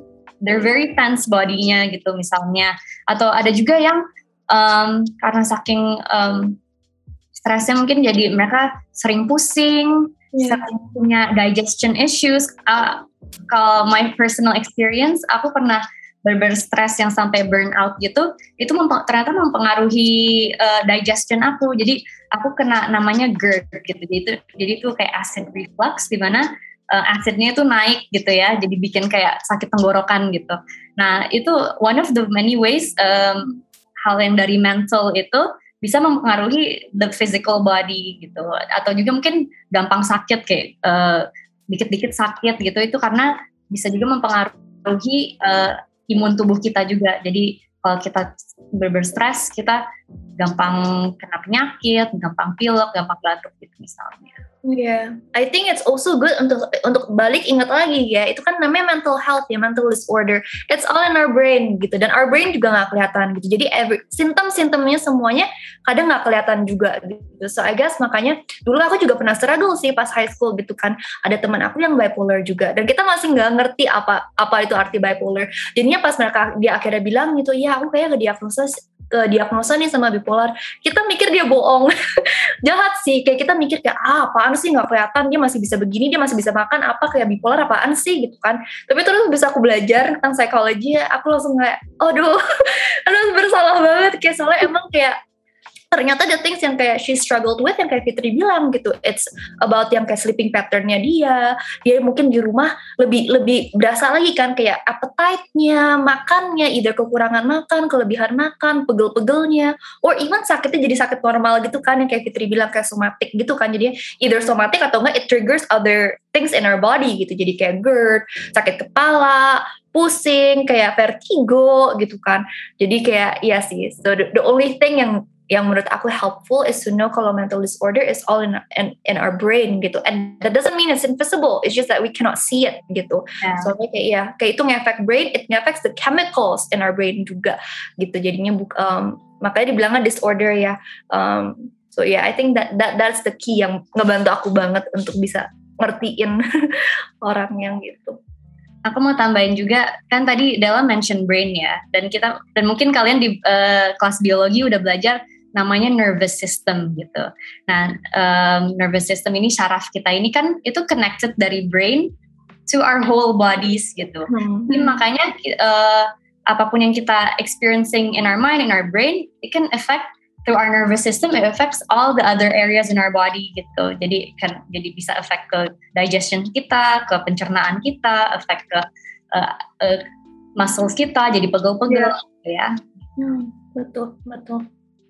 they're very tense bodinya gitu misalnya. Atau ada juga yang um, karena saking um, stresnya mungkin jadi mereka sering pusing, yeah. sering punya digestion issues. Uh, kalau my personal experience, aku pernah bener-bener stres yang sampai burnout gitu, itu memp- ternyata mempengaruhi uh, digestion aku. Jadi aku kena namanya GERD gitu. Jadi itu, jadi itu kayak acid reflux di mana uh, acidnya itu naik gitu ya. Jadi bikin kayak sakit tenggorokan gitu. Nah itu one of the many ways um, hal yang dari mental itu bisa mempengaruhi the physical body gitu. Atau juga mungkin gampang sakit kayak uh, dikit-dikit sakit gitu. Itu karena bisa juga mempengaruhi uh, imun tubuh kita juga. Jadi kalau kita bener-bener stres, kita gampang kena penyakit, gampang pilek, gampang batuk gitu misalnya. Iya, yeah. I think it's also good untuk untuk balik ingat lagi ya, itu kan namanya mental health ya, mental disorder. It's all in our brain gitu, dan our brain juga nggak kelihatan gitu. Jadi every simptom-simptomnya semuanya kadang nggak kelihatan juga gitu. So I guess makanya dulu aku juga pernah struggle sih pas high school gitu kan. Ada teman aku yang bipolar juga, dan kita masih nggak ngerti apa apa itu arti bipolar. Jadinya pas mereka dia akhirnya bilang gitu, ya aku kayak ngediagnosa ke diagnosa nih sama bipolar, kita mikir dia bohong. Jahat sih, kayak kita mikir kayak ah apaan sih, nggak kelihatan, dia masih bisa begini, dia masih bisa makan, apa kayak bipolar apaan sih gitu kan. Tapi terus bisa aku belajar tentang psikologi, aku langsung kayak aduh aduh bersalah banget, kayak soalnya emang kayak ternyata the things yang kayak she struggled with, yang kayak Fitri bilang gitu, it's about yang kayak sleeping pattern-nya dia, dia mungkin di rumah lebih lebih berasa lagi kan kayak appetite-nya, makannya, either kekurangan makan, kelebihan makan, pegel-pegelnya, or even sakitnya jadi sakit normal gitu kan, yang kayak Fitri bilang kayak somatic gitu kan, jadi either somatic atau enggak it triggers other things in our body gitu, jadi kayak GERD, sakit kepala, pusing, kayak vertigo gitu kan. Jadi kayak iya sih, so the, the only thing yang yang menurut aku helpful is to know kalau mental disorder is all in, in in our brain gitu, and that doesn't mean it's invisible, it's just that we cannot see it gitu. Yeah. So kayak ya kayak itu ngefek brain, it ngefects the chemicals in our brain juga gitu. Jadinya um, makanya dibilangnya disorder ya. Um, so yeah, I think that that that's the key yang ngebantu aku banget untuk bisa ngertiin orang yang gitu. Aku mau tambahin juga, kan tadi Della mention brain ya, dan kita dan mungkin kalian di uh, kelas biologi udah belajar namanya nervous system gitu. Nah, um, nervous system ini, syaraf kita ini kan itu connected dari brain to our whole bodies gitu. Hmm. Jadi makanya uh, apapun yang kita experiencing in our mind, in our brain, it can affect through our nervous system, it affects all the other areas in our body gitu. Jadi kan jadi bisa affect ke digestion kita, ke pencernaan kita, affect ke uh, uh, muscles kita, jadi pegel-pegel yeah. gitu ya. Hmm, betul, betul.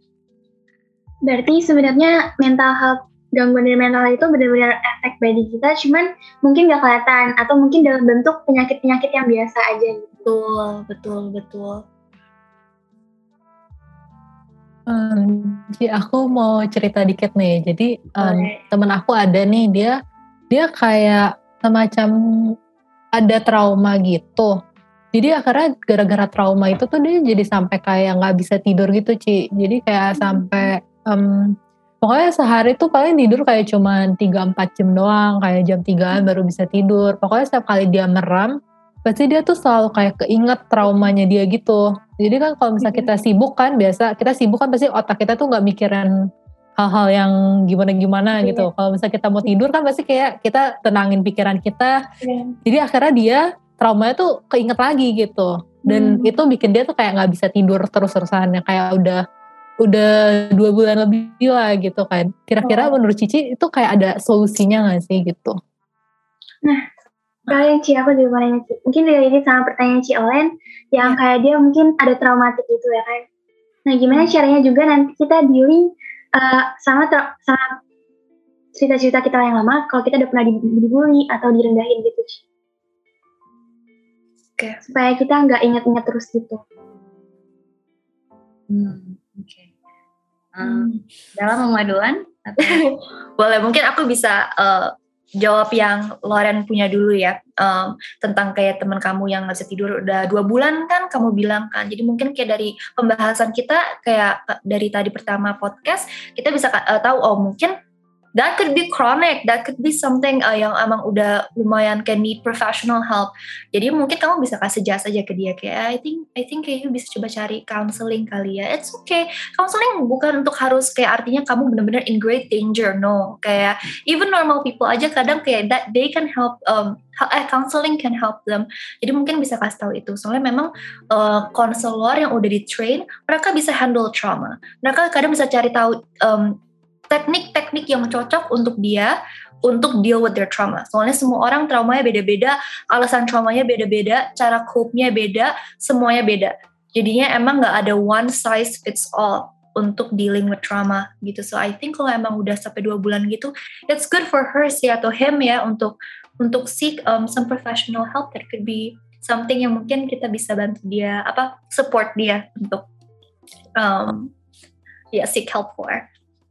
Berarti sebenarnya mental health, gangguan dari mental itu benar-benar efek body kita, cuman mungkin gak kelihatan, atau mungkin dalam bentuk penyakit-penyakit yang biasa aja gitu. Betul, betul, betul. Um, jadi aku mau cerita dikit nih. Jadi um, temen aku ada nih, dia dia kayak semacam ada trauma gitu. Jadi akhirnya gara-gara trauma itu tuh dia jadi sampai kayak nggak bisa tidur gitu, Ci. Jadi kayak hmm. sampai um, pokoknya sehari tuh paling tidur kayak cuma tiga sampai empat jam doang, kayak jam tigaan baru bisa tidur. Pokoknya setiap kali dia meram, pasti dia tuh selalu kayak keinget traumanya dia gitu. Jadi kan kalau misalnya kita sibuk kan, biasa kita sibuk kan pasti otak kita tuh gak mikirin hal-hal yang gimana-gimana yeah. gitu. Kalau misalnya kita mau tidur kan pasti kayak kita tenangin pikiran kita. Yeah. Jadi akhirnya dia traumanya tuh keinget lagi gitu. Dan hmm. itu bikin dia tuh kayak gak bisa tidur terus-terusan. Kayak udah udah dua bulan lebih lah gitu kan. Kira-kira oh. menurut Cici itu kayak ada solusinya gak sih gitu? Nah, kalian Ci, aku juga mau nanya Ci. Mungkin dari sama pertanyaan Ci Olen, yang ya. Kayak dia mungkin ada traumatik gitu ya kan. Nah gimana caranya juga nanti kita dealing uh, sama, tra- sama cerita-cerita kita yang lama, kalau kita udah pernah dibully atau direndahin gitu Ci. Oke. Okay. Supaya kita gak ingat-ingat terus gitu. Hmm, oke. Okay. Um, dalam pemaduan? Atau? Boleh, mungkin aku bisa... Uh, jawab yang Loren punya dulu ya, um, tentang kayak teman kamu yang nggak bisa tidur udah dua bulan kan kamu bilang kan. Jadi mungkin kayak dari pembahasan kita kayak dari tadi pertama podcast kita bisa uh, tahu oh mungkin that could be chronic, that could be something uh, yang emang udah lumayan can need professional help. Jadi mungkin kamu bisa kasih suggest aja ke dia kayak I think I think kayak you bisa coba cari counseling kali ya. It's okay. Counseling bukan untuk harus kayak artinya kamu benar-benar in great danger. No, kayak even normal people aja kadang kayak that they can help um eh, counseling can help them. Jadi mungkin bisa kasih tahu itu. Soalnya memang konselor uh, yang udah di train, mereka bisa handle trauma. Mereka kadang bisa cari tahu um, teknik-teknik yang cocok untuk dia untuk deal with their trauma. Soalnya semua orang traumanya beda-beda, alasan traumanya beda-beda, cara cope-nya beda, semuanya beda. Jadinya emang nggak ada one size fits all untuk dealing with trauma gitu. So I think kalau emang udah sampai dua bulan gitu, it's good for her sih atau him ya untuk untuk seek um, some professional help. That could be something yang mungkin kita bisa bantu dia, apa support dia untuk um, ya yeah, seek help for.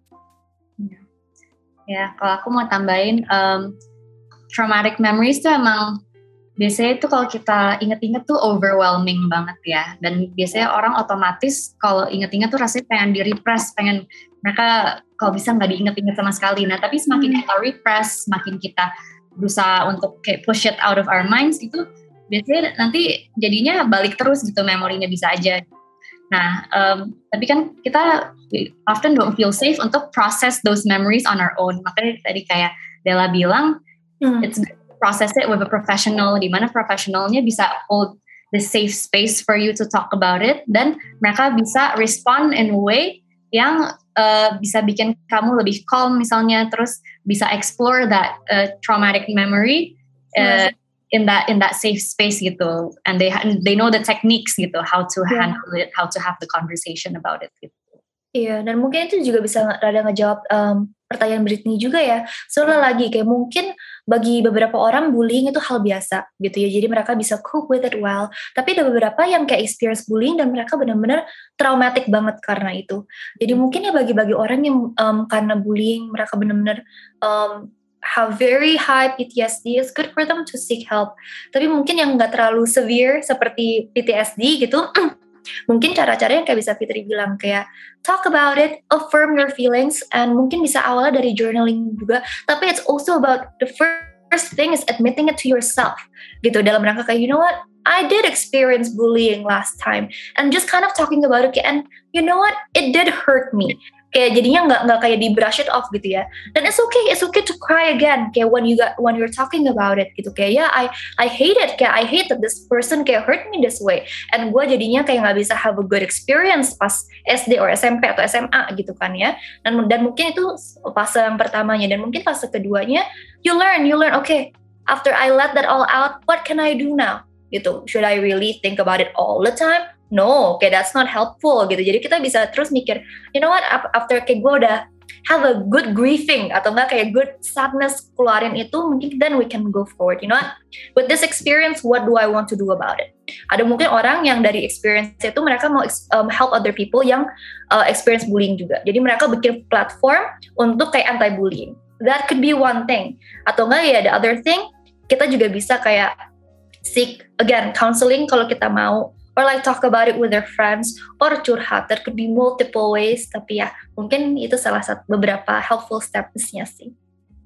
Ya, kalau aku mau tambahin, um, traumatic memories tuh emang biasanya tuh kalau kita inget-inget tuh overwhelming banget ya. Dan biasanya orang otomatis kalau inget-inget tuh rasanya pengen di-repress, pengen mereka kalau bisa nggak diinget-inget sama sekali. Nah, tapi semakin hmm. kita repress, semakin kita berusaha untuk kayak push it out of our minds, itu biasanya nanti jadinya balik terus gitu, memorinya bisa aja. Nah, um, tapi kan kita often don't feel safe untuk process those memories on our own. Makanya tadi kayak Della bilang, hmm. it's good to process it with a professional, di mana professionalnya bisa hold the safe space for you to talk about it, dan mereka bisa respond in a way yang uh, bisa bikin kamu lebih calm misalnya, terus bisa explore that uh, traumatic memory uh, hmm. in that in that safe space gitu, and they they know the techniques gitu, how to yeah. handle it, how to have the conversation about it gitu. Iya, dan mungkin itu juga bisa rada ngejawab um, pertanyaan Britney juga ya. Soalnya lagi kayak mungkin bagi beberapa orang bullying itu hal biasa gitu ya, jadi mereka bisa cope with it well. Tapi ada beberapa yang kayak experience bullying dan mereka benar-benar traumatic banget karena itu. Jadi mungkin ya bagi-bagi orang yang um, karena bullying mereka benar-benar um, have very high P T S D, it's good for them to seek help. Tapi mungkin yang nggak terlalu severe seperti P T S D gitu, mungkin cara-caranya kayak bisa Fitri bilang kayak talk about it, affirm your feelings, and mungkin bisa awalnya dari journaling juga. Tapi it's also about the first thing is admitting it to yourself gitu, dalam rangka kayak you know what, I did experience bullying last time, and just kind of talking about it, and you know what, it did hurt me. Kayak jadinya nggak nggak kayak di brush it off gitu ya. Dan it's okay, it's okay to cry again. Kayak when you got when you're talking about it gitu. Kayak ya yeah, I I hate it. Kayak I hate that this person kayak hurt me this way. And gue jadinya kayak nggak bisa have a good experience pas S D or S M P atau S M A gitu kan ya. Dan dan mungkin itu fase yang pertamanya, dan mungkin fase keduanya you learn you learn. Okay, after I let that all out, what can I do now? Gitu. Should I really think about it all the time? No, okay, that's not helpful gitu. Jadi kita bisa terus mikir, you know what, after kayak gue udah have a good grieving atau enggak kayak good sadness keluarin itu, mungkin then we can go forward. You know what, with this experience, what do I want to do about it? Ada mungkin orang yang dari experience itu mereka mau um, help other people yang uh, experience bullying juga. Jadi mereka bikin platform untuk kayak anti-bullying. That could be one thing. Atau enggak ya, the other thing, kita juga bisa kayak seek, again, counseling kalau kita mau, or like talk about it with their friends, or curhat. There could be multiple ways, tapi ya mungkin itu salah satu beberapa helpful steps-nya sih.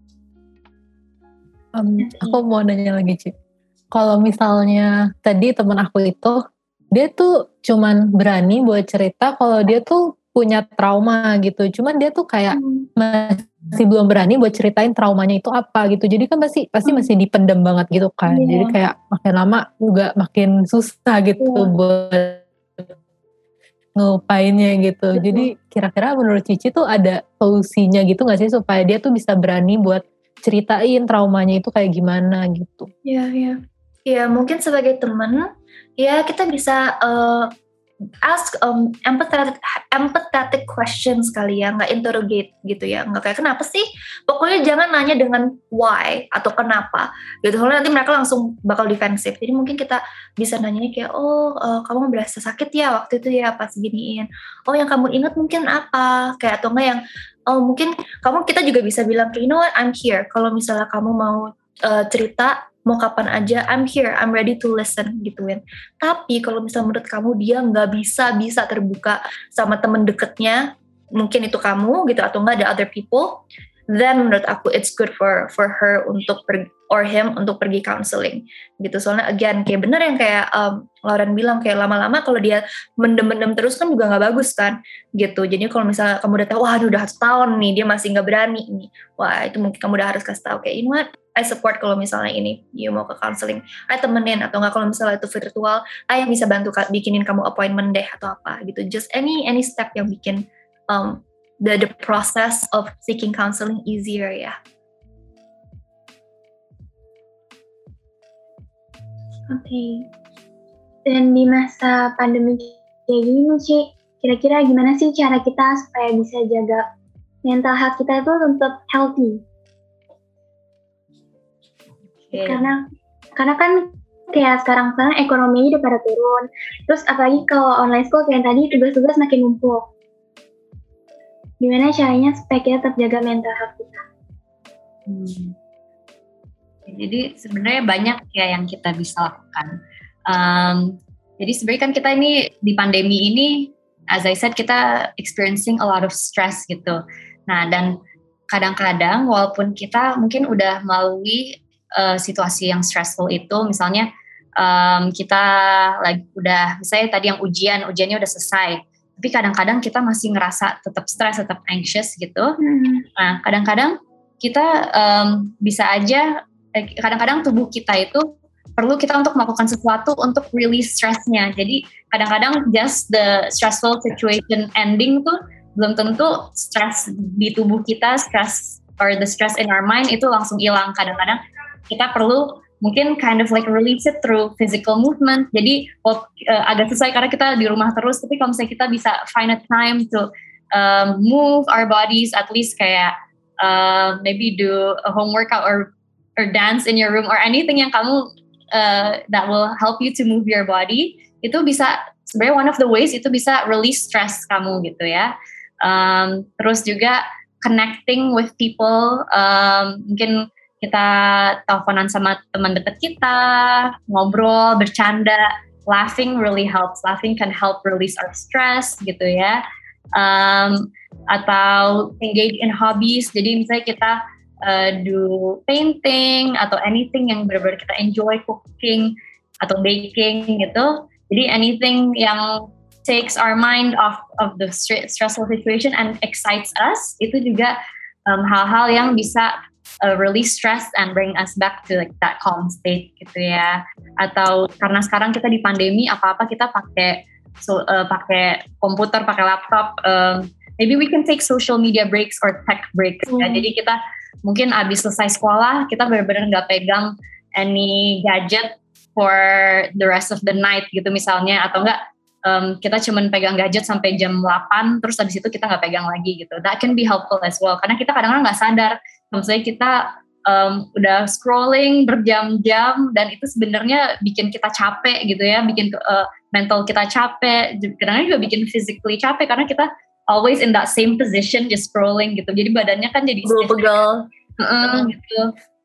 Um, aku mau nanya lagi, Ci. Kalau misalnya tadi teman aku itu, dia tuh cuman berani buat cerita kalau dia tuh punya trauma gitu. Cuman dia tuh kayak hmm. masih belum berani buat ceritain traumanya itu apa gitu. Jadi kan pasti pasti hmm. masih dipendam banget gitu kan. Yeah. Jadi kayak makin lama juga makin susah gitu yeah. buat ngelupainnya gitu. Yeah. Jadi kira-kira menurut Cici tuh ada solusinya gitu gak sih supaya dia tuh bisa berani buat ceritain traumanya itu kayak gimana gitu. Iya, yeah, iya. Yeah. Ya mungkin sebagai teman, ya kita bisa uh, ask um, empathetic, empathetic questions kali ya, nggak interrogate gitu ya, nggak kayak kenapa sih, pokoknya jangan nanya dengan why atau kenapa gitu, soalnya nanti mereka langsung bakal defensif. Jadi mungkin kita bisa nanya kayak oh uh, kamu berasa sakit ya waktu itu ya pas giniin, oh yang kamu ingat mungkin apa, kayak atau enggak yang oh mungkin kamu, kita juga bisa bilang you know what, I'm here, kalau misalnya kamu mau uh, cerita mau kapan aja, I'm here, I'm ready to listen gituin. Tapi kalau misalnya menurut kamu dia nggak bisa bisa terbuka sama temen deketnya, mungkin itu kamu gitu atau nggak ada other people, then menurut aku it's good for for her untuk pergi, or him untuk pergi counseling gitu. Soalnya again kayak bener yang kayak um, Lauren bilang, kayak lama-lama kalau dia mendem-mendem terus kan juga nggak bagus kan gitu. Jadi kalau misalnya kamu udah tahu, wah udah setahun nih dia masih nggak berani nih, wah itu mungkin kamu udah harus kasih tahu kayak, you know what, I support kalau misalnya ini you mau ke counseling, I temenin, atau nggak kalau misalnya itu virtual, I yang bisa bantu bikinin kamu appointment deh atau apa gitu. Just any any step yang bikin um, the the process of seeking counseling easier ya. Oke. Okay. Dan di masa pandemi kayak gini nih, Ci, kira-kira gimana sih cara kita supaya bisa jaga mental health kita itu tetap healthy? Okay. Karena karena kan kayak sekarang-sekarang ekonominya udah pada turun. Terus apalagi kalau online school kayak tadi tugas-tugas makin numpuk. Gimana caranya supaya kita tetap jaga mental health kita? Hmm. Jadi sebenarnya banyak ya yang kita bisa lakukan. Um, jadi sebenarnya kan kita ini di pandemi ini, as I said, kita experiencing a lot of stress gitu. Nah, dan kadang-kadang walaupun kita mungkin udah melalui uh, situasi yang stressful itu, misalnya um, kita lagi udah, misalnya tadi yang ujian, ujiannya udah selesai, tapi kadang-kadang kita masih ngerasa tetap stress, tetap anxious gitu. Hmm. Nah, kadang-kadang kita um, bisa aja, eh, kadang-kadang tubuh kita itu perlu kita untuk melakukan sesuatu untuk release stressnya. Jadi kadang-kadang just the stressful situation ending tuh belum tentu stress di tubuh kita, stress or the stress in our mind itu langsung hilang. Kadang-kadang kita perlu mungkin kind of like release it through physical movement. Jadi uh, agak susah karena kita di rumah terus, tapi kalau misalnya kita bisa find a time to um, move our bodies, at least kayak uh, maybe do a home workout or or dance in your room or anything yang kamu uh, that will help you to move your body, itu bisa sebenarnya one of the ways itu bisa release stress kamu gitu ya. Um, terus juga connecting with people, um, mungkin kita teleponan sama teman dekat kita, ngobrol, bercanda, laughing really helps. Laughing can help release our stress gitu ya. Um, atau engage in hobbies. Jadi misalnya kita uh, do painting atau anything yang benar-benar kita enjoy, cooking atau baking gitu. Jadi anything yang takes our mind off of the stressful situation and excites us, itu juga um, hal-hal yang bisa Uh, release stress and bring us back to like that calm state gitu ya. Atau karena sekarang kita di pandemi, apa-apa kita pakai so, uh, pakai komputer, pakai laptop, um, maybe we can take social media breaks or tech breaks mm. ya. Jadi kita mungkin abis selesai sekolah kita benar-benar nggak pegang any gadget for the rest of the night gitu misalnya, atau enggak um, kita cuman pegang gadget sampai jam delapan terus abis itu kita nggak pegang lagi gitu. That can be helpful as well, karena kita kadang-kadang nggak sadar misalnya kita um, udah scrolling berjam-jam dan itu sebenarnya bikin kita capek gitu ya, bikin uh, mental kita capek, kadang-kadang juga bikin physically capek karena kita always in that same position just scrolling gitu, jadi badannya kan jadi pegel-pegel uh, gitu.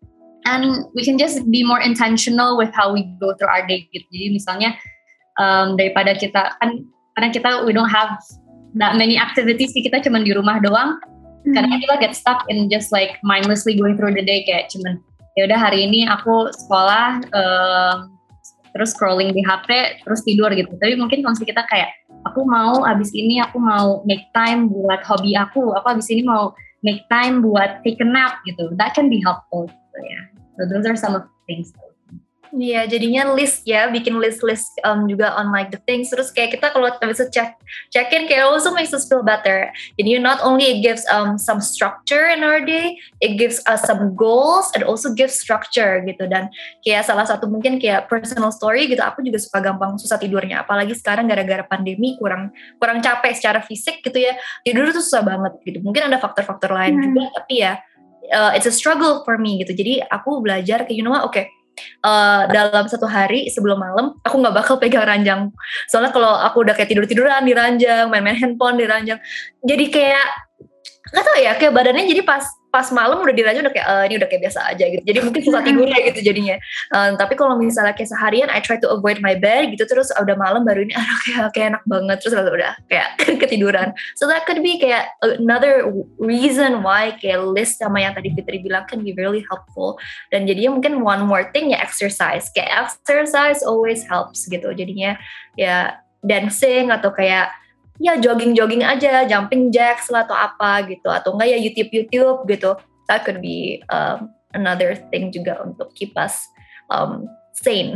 And we can just be more intentional with how we go through our day gitu. Jadi misalnya um, daripada kita kan, karena kita we don't have that many activities, kita cuma di rumah doang. Karena kita get stuck in just like mindlessly going through the day, kayak cuman ya udah hari ini aku sekolah um, terus scrolling di H P terus tidur gitu. Tapi mungkin kalau kita kayak aku mau abis ini aku mau make time buat hobi aku, aku abis ini mau make time buat take a nap gitu. That can be helpful gitu ya. So those are some of the things. Iya, jadinya list ya, bikin list-list um, juga on like the things. Terus kayak kita kalau bisa check check in, kayak also makes us feel better. Jadi not only it gives um, some structure in our day, it gives us some goals and also gives structure gitu. Dan kayak salah satu mungkin kayak personal story gitu, aku juga suka gampang susah tidurnya. Apalagi sekarang gara-gara pandemi kurang kurang capek secara fisik gitu ya. Tidur tuh susah banget gitu. Mungkin ada faktor-faktor lain hmm. juga, tapi ya uh, it's a struggle for me gitu. Jadi aku belajar kayak you know what, oke. Okay, Uh, dalam satu hari sebelum malam aku nggak bakal pegang ranjang, soalnya kalau aku udah kayak tidur-tiduran di ranjang, main-main handphone di ranjang, jadi kayak nggak tahu ya, kayak badannya jadi pas pas malam udah dirajut udah kayak uh, ini udah kayak biasa aja gitu. Jadi mungkin susah tidurnya gitu jadinya. Um, tapi kalau misalnya kayak seharian I try to avoid my bed gitu, terus udah malam baru ini aduh kayak kayak enak banget, terus udah kayak ketiduran. So that could be kayak another reason why kayak list sama yang tadi Fitri bilang can be really helpful. Dan jadinya mungkin one more thing ya exercise. Kayak exercise always helps gitu. Jadinya ya dancing atau kayak ya jogging-jogging aja, jumping jacks lah atau apa gitu, atau enggak ya YouTube-YouTube gitu. That could be um, another thing juga untuk keep us um, sane.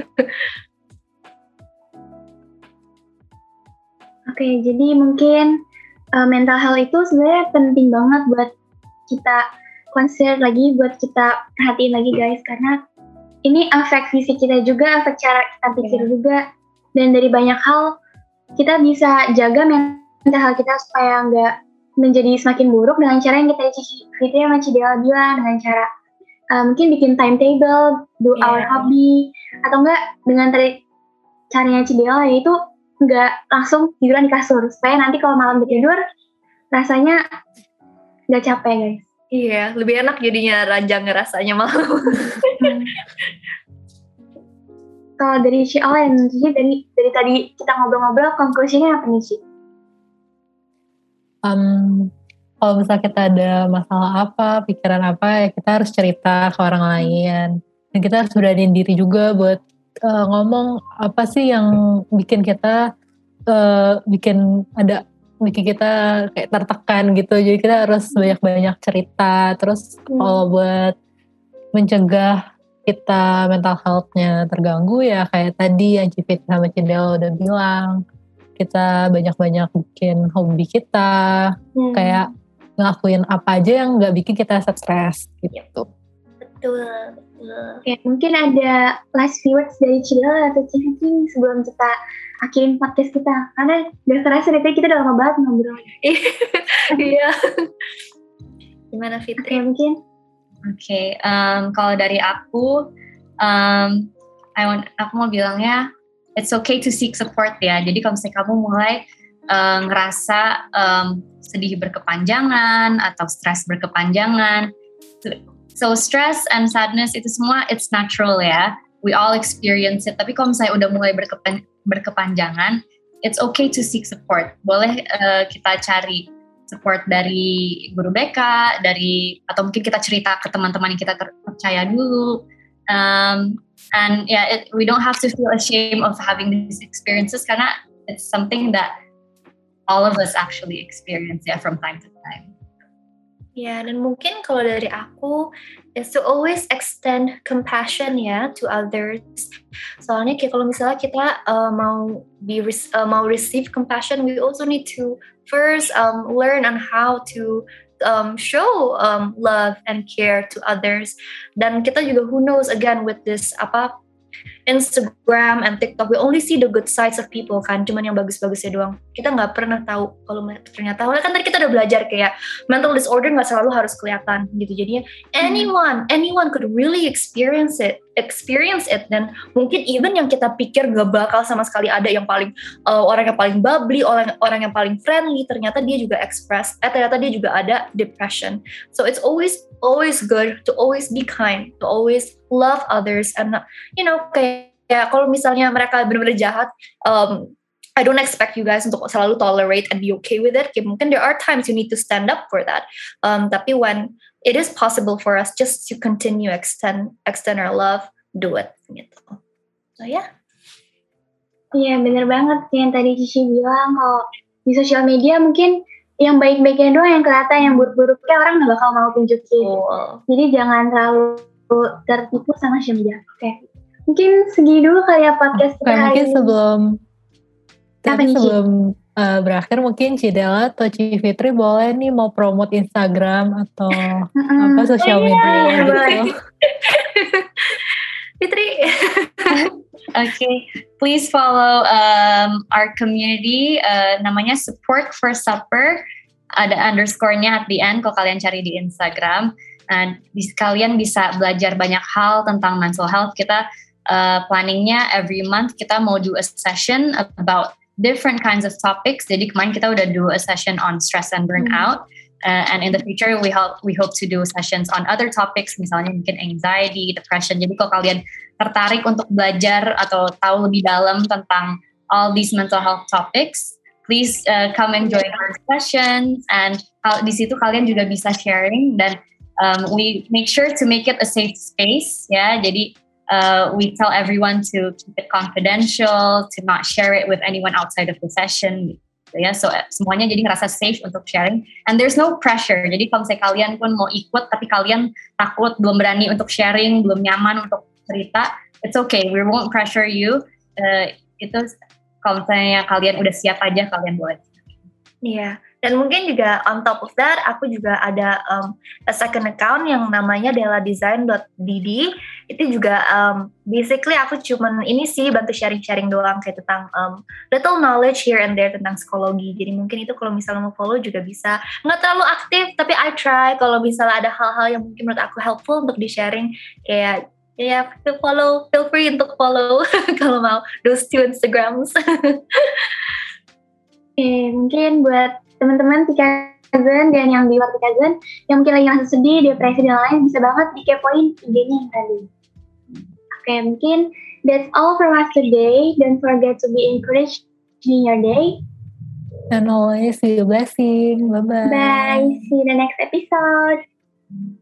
Oke, okay, jadi mungkin uh, mental health itu sebenarnya penting banget buat kita consider lagi, buat kita perhatiin lagi guys, karena ini efek fisik kita juga, efek cara kita pikir yeah. juga, dan dari banyak hal kita bisa jaga mental health kita supaya nggak menjadi semakin buruk dengan cara yang kita Fitri sama Cidela bilang, dengan cara uh, mungkin bikin timetable, do yeah. our hobby, atau enggak dengan tadi caranya Cidela yaitu nggak langsung tiduran di kasur supaya nanti kalau malam tidur rasanya nggak capek guys. Iya, lebih enak jadinya ranjang ngerasanya malam. Kalau dari Ci Olen, jadi dari dari tadi kita ngobrol-ngobrol, konklusinya apa nih Ci? Um, kalau misalnya kita ada masalah apa, pikiran apa, ya kita harus cerita ke orang lain. Dan kita harus beraniin diri juga buat uh, ngomong apa sih yang bikin kita, uh, bikin ada, bikin kita kayak tertekan gitu. Jadi kita harus banyak-banyak cerita. Terus hmm. kalau buat mencegah kita mental health-nya terganggu ya kayak tadi yang Cipit sama Cidel udah bilang, kita banyak-banyak bikin hobi kita, hmm. kayak ngelakuin apa aja yang gak bikin kita stres gitu. Betul, betul. Oke, mungkin ada last few words dari Cidel atau Cipit sebelum kita akhirin podcast kita, karena gak terasa dari kita udah lama banget ngobrol. Iya. Gimana Fitri? Oke, mungkin Oke, okay, um, kalau dari aku, um, I want, aku mau bilangnya, it's okay to seek support ya. Jadi kalau misalnya kamu mulai uh, ngerasa um, sedih berkepanjangan atau stres berkepanjangan, so stress and sadness itu semua it's natural ya. We all experience it. Tapi kalau misalnya udah mulai berkepan, berkepanjangan, it's okay to seek support. Boleh uh, kita cari support dari guru B K, dari atau mungkin kita cerita ke teman-teman yang kita percaya dulu. Um, and yeah, it, we don't have to feel ashamed of having these experiences karena it's something that all of us actually experience ya yeah, from time to time. Ya, dan mungkin kalau dari aku is to always extend compassion ya to others. Soalnya kayak kalau misalnya kita uh, mau be uh, mau receive compassion, we also need to first um, learn on how to um, show um, love and care to others. Dan kita juga who knows again with this apa Instagram and TikTok, we only see the good sides of people kan, cuman yang bagus-bagusnya doang. Kita nggak pernah tahu kalau ternyata, kan tadi kita udah belajar kayak mental disorder nggak selalu harus kelihatan gitu. Jadinya anyone, anyone could really experience it, experience it. Dan mungkin even yang kita pikir nggak bakal sama sekali ada yang paling uh, orang yang paling bubbly, orang orang yang paling friendly, ternyata dia juga express, eh ternyata dia juga ada depression. So it's always always good to always be kind, to always love others, and you know kayak ya kalau misalnya mereka benar-benar jahat, um, I don't expect you guys untuk selalu tolerate and be okay with it. Kayak mungkin there are times you need to stand up for that. Um, tapi when it is possible for us just to continue extend extend our love, do it gitu. So ya. Yeah. Iya benar banget yang tadi Cici bilang, kalau di sosial media mungkin yang baik-baiknya doang yang kelihatan, yang buruk-buruknya orang nggak bakal mau tunjukin. Oh. Jadi jangan terlalu tertipu sama sosial media. Oke. Okay. Mungkin segini dulu kali ya podcast kita hari mungkin ini. sebelum tapi sebelum uh, berakhir mungkin Cidela atau Ci Fitri boleh nih mau promote Instagram atau mm-hmm. apa sosial media oh, iya, gitu. Fitri. Okay, please follow um, our community, uh, namanya Support for Supper, ada underscore-nya at the end kalau kalian cari di Instagram. Dan kalian bisa belajar banyak hal tentang mental health. Kita Uh, planningnya every month kita mau do a session about different kinds of topics. Jadi kemarin kita udah do a session on stress and burnout. Uh, and in the future we hope we hope to do sessions on other topics, misalnya mungkin anxiety, depression. Jadi kalau kalian tertarik untuk belajar atau tahu lebih dalam tentang all these mental health topics, please uh, come and join our sessions. And uh, di situ kalian juga bisa sharing, dan um, we make sure to make it a safe space. Ya, jadi uh, we tell everyone to keep it confidential, to not share it with anyone outside of the session. Ya, so semuanya jadi ngerasa safe untuk sharing, and there's no pressure. Jadi kalau misalnya kalian pun mau ikut tapi kalian takut, belum berani untuk sharing, belum nyaman untuk cerita, it's okay, we won't pressure you. Uh, itu kalau misalnya kalian udah siap aja, kalian boleh. Iya, yeah. Dan mungkin juga on top of that, aku juga ada um, a second account yang namanya della design dot d d. Itu juga um, basically aku cuman ini sih bantu sharing-sharing doang kayak tentang um, little knowledge here and there tentang psikologi. Jadi mungkin itu kalau misalnya mau follow juga bisa. Nggak terlalu aktif, tapi I try kalau misalnya ada hal-hal yang mungkin menurut aku helpful untuk di-sharing, kayak ya feel follow, feel free untuk follow kalau mau those two Instagrams. Oke, mungkin buat teman-teman Pikazen dan yang di luar Pikazen yang mungkin lagi ngerasa sedih, depresi dan lain, bisa banget dikepoin I G-nya yang tadi. Oke, mungkin that's all from us today. Don't forget to be encouraged in your day. And always be a blessing. Bye-bye. Bye. See you in the next episode.